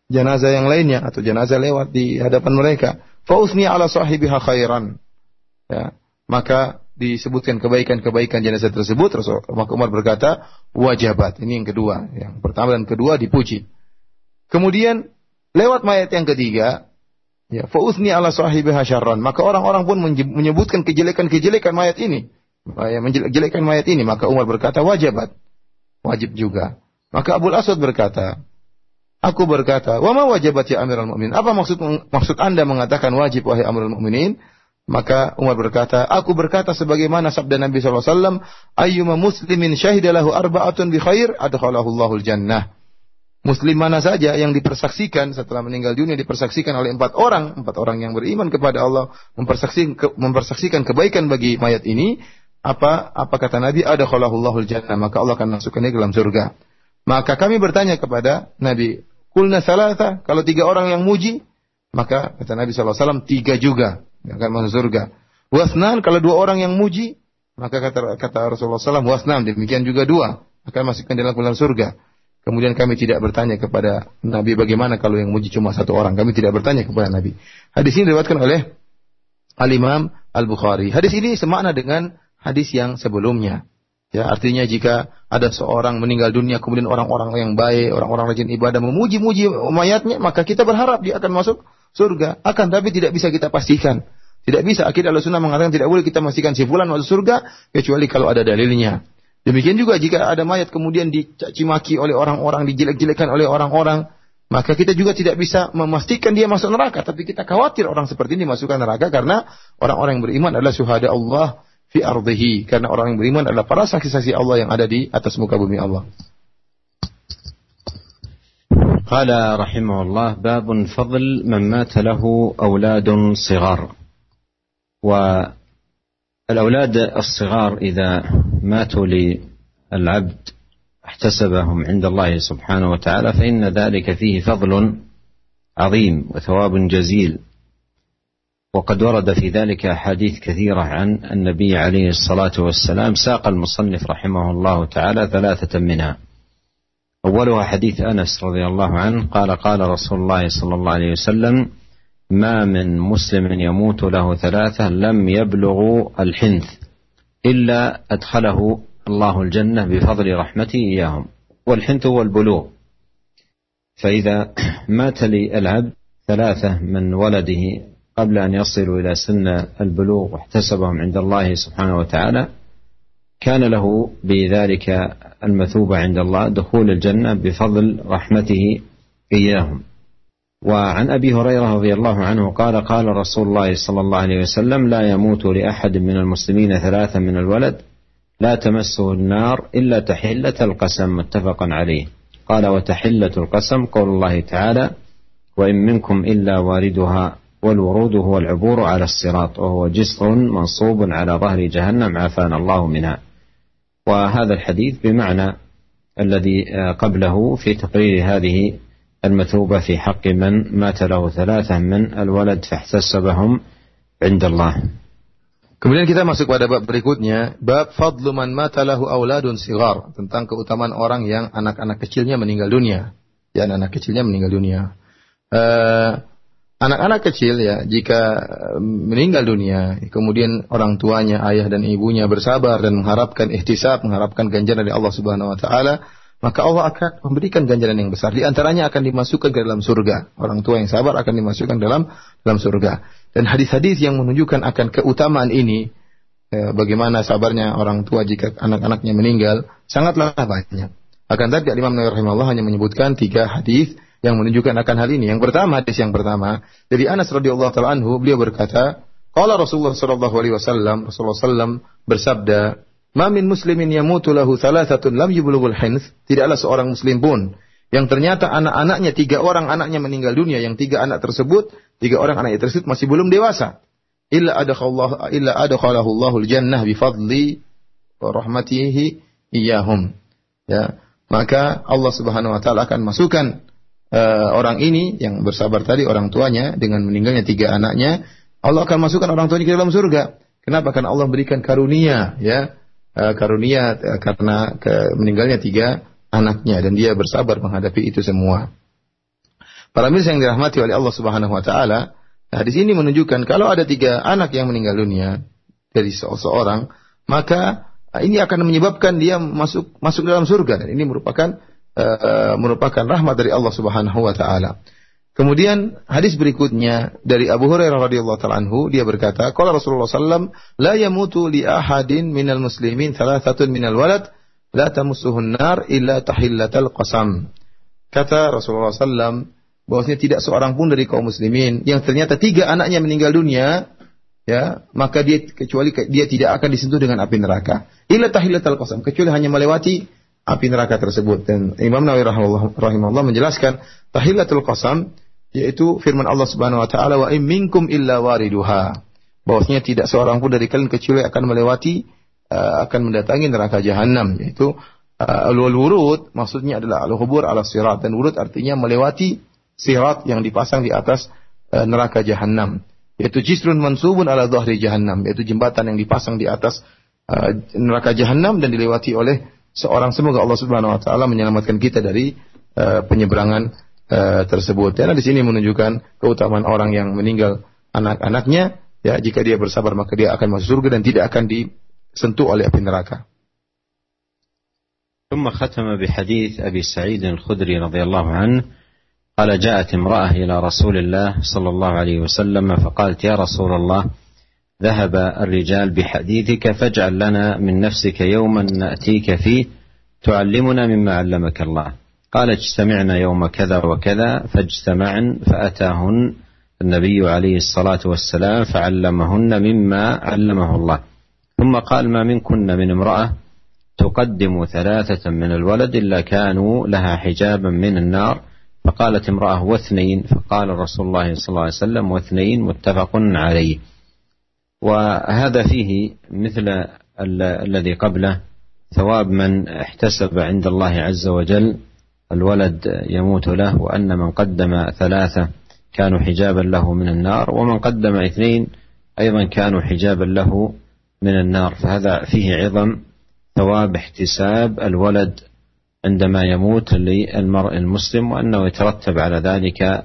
jenazah yang lainnya atau jenazah lewat di hadapan mereka, fa usni ala sahibiha khairan. Ya, maka disebutkan kebaikan-kebaikan jenazah tersebut, maka Umar berkata, wajabat. Ini yang kedua. Yang pertama dan kedua dipuji. Kemudian lewat mayat yang ketiga, ya, fa usni ala sahibiha syarran. Maka orang-orang pun menyebutkan kejelekan-kejelekan mayat ini. Ya, menjelekkan mayat ini, maka Umar berkata, wajabat. Wajib juga. Maka Abul Aswad berkata, aku berkata, wa ma wajabat ya Amirul Mukminin? Apa maksud maksud Anda mengatakan wajib wahai Amirul Mukminin? Maka Umar berkata, aku berkata sebagaimana sabda Nabi sallallahu alaihi wasallam, ayyuma muslimin syahida lahu arba'atun bi khair adkhalahu Allahul jannah. Muslim mana saja yang dipersaksikan setelah meninggal dunia dipersaksikan oleh empat orang, empat orang yang beriman kepada Allah, mempersaksikan ke, mempersaksikan kebaikan bagi mayat ini, apa apa kata Nabi, adkhalahu Allahul jannah, maka Allah akan masukkannya ke dalam surga. Maka kami bertanya kepada Nabi, qulna salasa, kalau tiga orang yang muji, maka kata Nabi sallallahu alaihi wasallam tiga juga akan masuk surga. Wasnan, kalau dua orang yang muji, maka kata kata Rasulullah sallallahu alaihi wasallam wasnan, demikian juga dua akan masukkan dalam dalam surga. Kemudian kami tidak bertanya kepada Nabi bagaimana kalau yang muji cuma satu orang. Kami tidak bertanya kepada Nabi. Hadis ini diriwayatkan oleh Al-Imam Al-Bukhari. Hadis ini semakna dengan hadis yang sebelumnya. Ya, artinya jika ada seorang meninggal dunia kemudian orang-orang yang baik, orang-orang rajin ibadah memuji-muji mayatnya, maka kita berharap dia akan masuk surga. Akan tapi tidak bisa kita pastikan. Tidak bisa. Akidah Ahlussunnah mengatakan tidak boleh kita pastikan si fulan masuk surga kecuali kalau ada dalilnya. Demikian juga jika ada mayat kemudian dicacimaki oleh orang-orang, dijelek-jelekan oleh orang-orang, maka kita juga tidak bisa memastikan dia masuk neraka. Tapi kita khawatir orang seperti ini masukkan neraka karena orang-orang yang beriman adalah syuhada Allah fi ardhihi. Karena orang yang beriman adalah para saksi-saksi Allah yang ada di atas muka bumi Allah. قال رحمه الله باب فضل من مات له أولاد صغار. والأولاد الصغار إذا ماتوا للعبد احتسبهم عند الله سبحانه وتعالى فإن ذلك فيه فضل عظيم وثواب جزيل. وقد ورد في ذلك أحاديث كثيرة عن النبي عليه الصلاة والسلام. ساق المصنف رحمه الله تعالى ثلاثة منها. أولها حديث أنس رضي الله عنه قال قال رسول الله صلى الله عليه وسلم ما من مسلم يموت له ثلاثة لم يبلغوا الحنث إلا أدخله الله الجنة بفضل رحمته إياهم. والحنث هو البلوغ. فإذا مات للعبد ثلاثة من ولده قبل أن يصلوا إلى سن البلوغ واحتسبهم عند الله سبحانه وتعالى كان له بذلك المثوبة عند الله دخول الجنة بفضل رحمته إياهم. وعن أبي هريرة رضي الله عنه قال قال رسول الله صلى الله عليه وسلم لا يموت لأحد من المسلمين ثلاثة من الولد لا تمسه النار إلا تحلة القسم متفق عليه. قال وتحلة القسم قول الله تعالى وإن منكم إلا واردها والورود هو العبور على الصراط وهو جسر منصوب على ظهر جهنم عافانا الله منها. وهذا الحديث بمعنى الذي قبله في تقرير هذه المثوبة في حق من مات له ثلاثة من الولد فاحتسبهم عند الله. Kemudian kita masuk pada bab berikutnya, bab fadlu man mata lahu auladun sighar, tentang keutamaan orang yang anak-anak kecilnya meninggal dunia. Ya, anak-anak kecilnya meninggal dunia. Uh, anak-anak kecil ya, jika meninggal dunia, kemudian orang tuanya, ayah dan ibunya bersabar dan mengharapkan ihtisab, mengharapkan ganjaran dari Allah Subhanahu wa taala, maka Allah akan memberikan ganjaran yang besar. Di antaranya akan dimasukkan ke dalam surga. Orang tua yang sabar akan dimasukkan dalam dalam surga. Dan hadis-hadis yang menunjukkan akan keutamaan ini, eh, bagaimana sabarnya orang tua jika anak-anaknya meninggal, sangatlah banyak. Akan tetapi Imam Nawawi rahimahullah hanya menyebutkan tiga hadis yang menunjukkan akan hal ini. Yang pertama, hadis yang pertama dari Anas radhiyallahu taala anhu, beliau berkata, qala Rasulullah sallallahu alaihi wasallam, Rasulullah sallallahu alaihi wasallam bersabda, "Ma min muslimin yamutu lahu thalathatun lam yublughul hinth." Tidaklah seorang muslim pun yang ternyata anak-anaknya, tiga orang anaknya meninggal dunia, yang tiga anak tersebut, tiga orang anaknya tersebut masih belum dewasa. Illa adakhallahu illa adakhalahu Allahul jannah bi fadli wa rahmatihi iyyahum. Ya, maka Allah Subhanahu wa taala akan masukkan uh, orang ini yang bersabar tadi, orang tuanya dengan meninggalnya tiga anaknya, Allah akan masukkan orang tuanya ke dalam surga. Kenapa? Karena Allah berikan karunia, ya. Uh, karunia uh, karena ke meninggalnya tiga anaknya dan dia bersabar menghadapi itu semua. Para mirsa yang dirahmati oleh Allah Subhanahu wa taala, hadis ini menunjukkan kalau ada tiga anak yang meninggal dunia dari seseorang, maka ini akan menyebabkan dia masuk masuk dalam surga, dan ini merupakan uh, merupakan rahmat dari Allah Subhanahu wa taala. Kemudian hadis berikutnya dari Abu Hurairah radhiyallahu taala anhu, dia berkata, qala Rasulullah sallallahu alaihi wasallam, la yamutu li ahadin minal muslimin thalathatun minal walad la tamussuhun nar illa tahillatal qasam. Kata Rasulullah sallallahu alaihi wasallam bahwasanya tidak seorang pun dari kaum muslimin yang ternyata tiga anaknya meninggal dunia, ya, maka dia kecuali dia tidak akan disentuh dengan api neraka. Illa tahillatal qasam, kecuali hanya melewati api neraka tersebut. Dan Imam Nawawi rahimahullah menjelaskan tahillatul qasam yaitu firman Allah Subhanahu wa taala, wa in minkum illa wariduha, bahwasanya tidak seorang pun dari kalian kecuali akan melewati uh, akan mendatangi neraka jahanam, yaitu uh, al-wurud maksudnya adalah al-hubur ala sirat, dan wurud artinya melewati sirat yang dipasang di atas uh, neraka jahanam, yaitu jisrun mansubun ala dhahri jahannam, yaitu jembatan yang dipasang di atas uh, neraka jahanam dan dilewati oleh seorang. Semoga Allah Subhanahu wa taala menyelamatkan kita dari uh, penyeberangan uh, tersebut. Dan di sini menunjukkan keutamaan orang yang meninggal anak-anaknya, ya, jika dia bersabar maka dia akan masuk surga dan tidak akan disentuh oleh api neraka. ثم ختم بحديث أبي سعيد الخدري رضي الله عنه قال جاءت امرأة إلى رسول الله صلى الله عليه وسلم فقالت يا رسول الله ذهب الرجال بحديثك فاجعل لنا من نفسك يوما نأتيك فيه تعلمنا مما علمك الله. قال اجتمعنا يوم كذا وكذا فاجتمعن فأتاهن النبي عليه الصلاة والسلام فعلمهن مما علمه الله. ثم قال ما منكن من امرأة تقدم ثلاثة من الولد إلا كانوا لها حجابا من النار. فقالت امرأة واثنين. فقال رسول الله صلى الله عليه وسلم واثنين متفق عليه. وهذا فيه مثل الذي قبله ثواب من احتسب عند الله عز وجل الولد يموت له، وأن من قدم ثلاثة كانوا حجابا له من النار، ومن قدم اثنين أيضا كانوا حجابا له من النار. فهذا فيه عظم ثواب احتساب الولد عندما يموت للمرء المسلم، وأنه يترتب على ذلك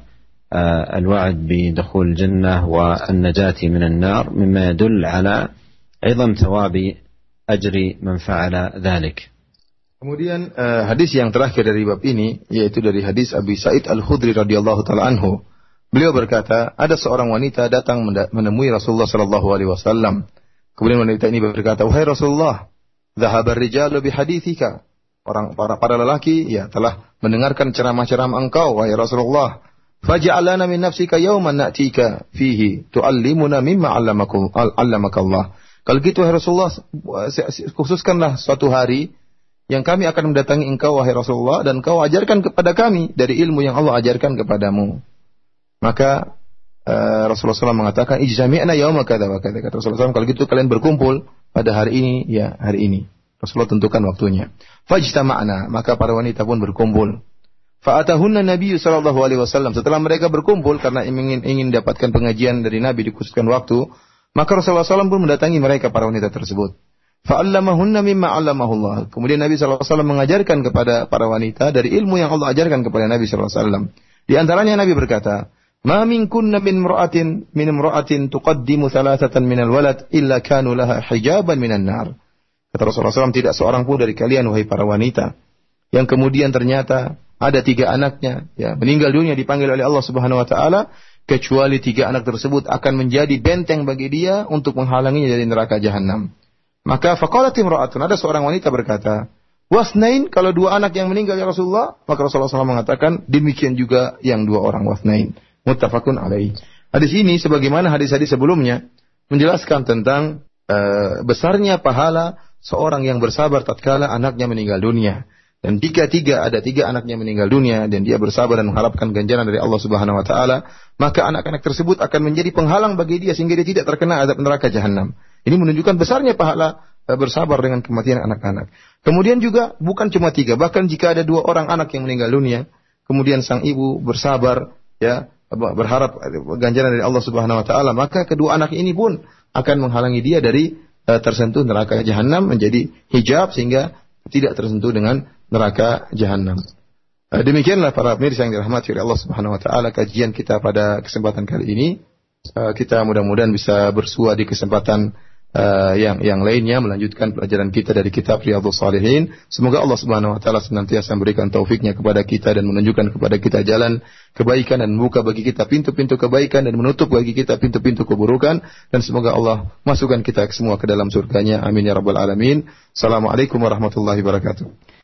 الوعد بدخول الجنة والنجاة من النار، مما يدل على عظم ثواب أجر من فعل ذلك. Kemudian uh, hadis yang terakhir dari bab ini yaitu dari hadis Abi Sa'id Al-Khudri radhiyallahu taala anhu. Beliau berkata, ada seorang wanita datang menemui Rasulullah sallallahu alaihi wasallam. Kemudian wanita ini berkata, "Wahai Rasulullah, dhahabar rijalu bihaditsika." Orang para para lelaki ya telah mendengarkan ceramah-ceramah engkau wahai Rasulullah. Faj'al lana min nafsika yawman na'tika fihi tu'allimuna mimma 'allamakum 'allamaka Allah. Kalau gitu wahai Rasulullah, khususkanlah suatu hari yang kami akan mendatangi engkau wahai Rasulullah dan engkau ajarkan kepada kami dari ilmu yang Allah ajarkan kepadamu. Maka uh, Rasulullah shallallahu alaihi wasallam mengatakan ijzami'na yawma kadza wa kadza. Kata Rasulullah shallallahu alaihi wasallam, kalau gitu kalian berkumpul pada hari ini, ya hari ini. Rasulullah tentukan waktunya. Fajtama'na, maka para wanita pun berkumpul. Fa'atahunna Nabi sallallahu alaihi wasallam. Setelah mereka berkumpul karena ingin ingin dapatkan pengajian dari Nabi dikhususkan waktu, maka Rasulullah shallallahu alaihi wasallam pun mendatangi mereka para wanita tersebut. Fa'allamahunna mimma 'allamahullah. Kemudian Nabi sallallahu alaihi wasallam mengajarkan kepada para wanita dari ilmu yang Allah ajarkan kepada Nabi sallallahu alaihi wasallam. Di antaranya Nabi berkata, "Ma minkunna min imra'atin min imra'atin tuqaddimu thalathatan minal walad illa kanu laha hijaban minan nar." Kata Rasulullah sallallahu alaihi wasallam, tidak seorang pun dari kalian wahai para wanita yang kemudian ternyata ada tiga anaknya ya meninggal dunia dipanggil oleh Allah Subhanahu wa taala, kecuali tiga anak tersebut akan menjadi benteng bagi dia untuk menghalanginya dari neraka jahanam. Maka faqalat imra'atun, ada seorang wanita berkata, "Wasnain, kalau dua anak yang meninggal ya Rasulullah." Maka Rasulullah shallallahu alaihi wasallam mengatakan, demikian juga yang dua orang, wasnain. Muttafaqun alaih. Hadis ini sebagaimana hadis-hadis sebelumnya menjelaskan tentang uh, besarnya pahala seorang yang bersabar tatkala anaknya meninggal dunia. Dan jika tiga ada tiga anaknya meninggal dunia dan dia bersabar dan mengharapkan ganjaran dari Allah Subhanahu wa taala, maka anak-anak tersebut akan menjadi penghalang bagi dia sehingga dia tidak terkena azab neraka jahanam. Ini menunjukkan besarnya pahala bersabar dengan kematian anak-anak. Kemudian juga bukan cuma tiga, bahkan jika ada dua orang anak yang meninggal dunia, kemudian sang ibu bersabar, ya berharap ganjaran dari Allah Subhanahu wa taala, maka kedua anak ini pun akan menghalangi dia dari uh, tersentuh neraka jahanam, menjadi hijab sehingga tidak tersentuh dengan neraka jahanam. Demikianlah para pemirsa yang dirahmati oleh Allah Subhanahu wa taala kajian kita pada kesempatan kali ini. Kita mudah-mudahan bisa bersua di kesempatan uh, yang yang lainnya melanjutkan pelajaran kita dari kitab Riyadhus Shalihin. Semoga Allah Subhanahu wa taala senantiasa memberikan taufiknya kepada kita dan menunjukkan kepada kita jalan kebaikan dan membuka bagi kita pintu-pintu kebaikan dan menutup bagi kita pintu-pintu keburukan, dan semoga Allah masukkan kita semua ke dalam surganya. Amin ya rabbal alamin. Assalamualaikum warahmatullahi wabarakatuh.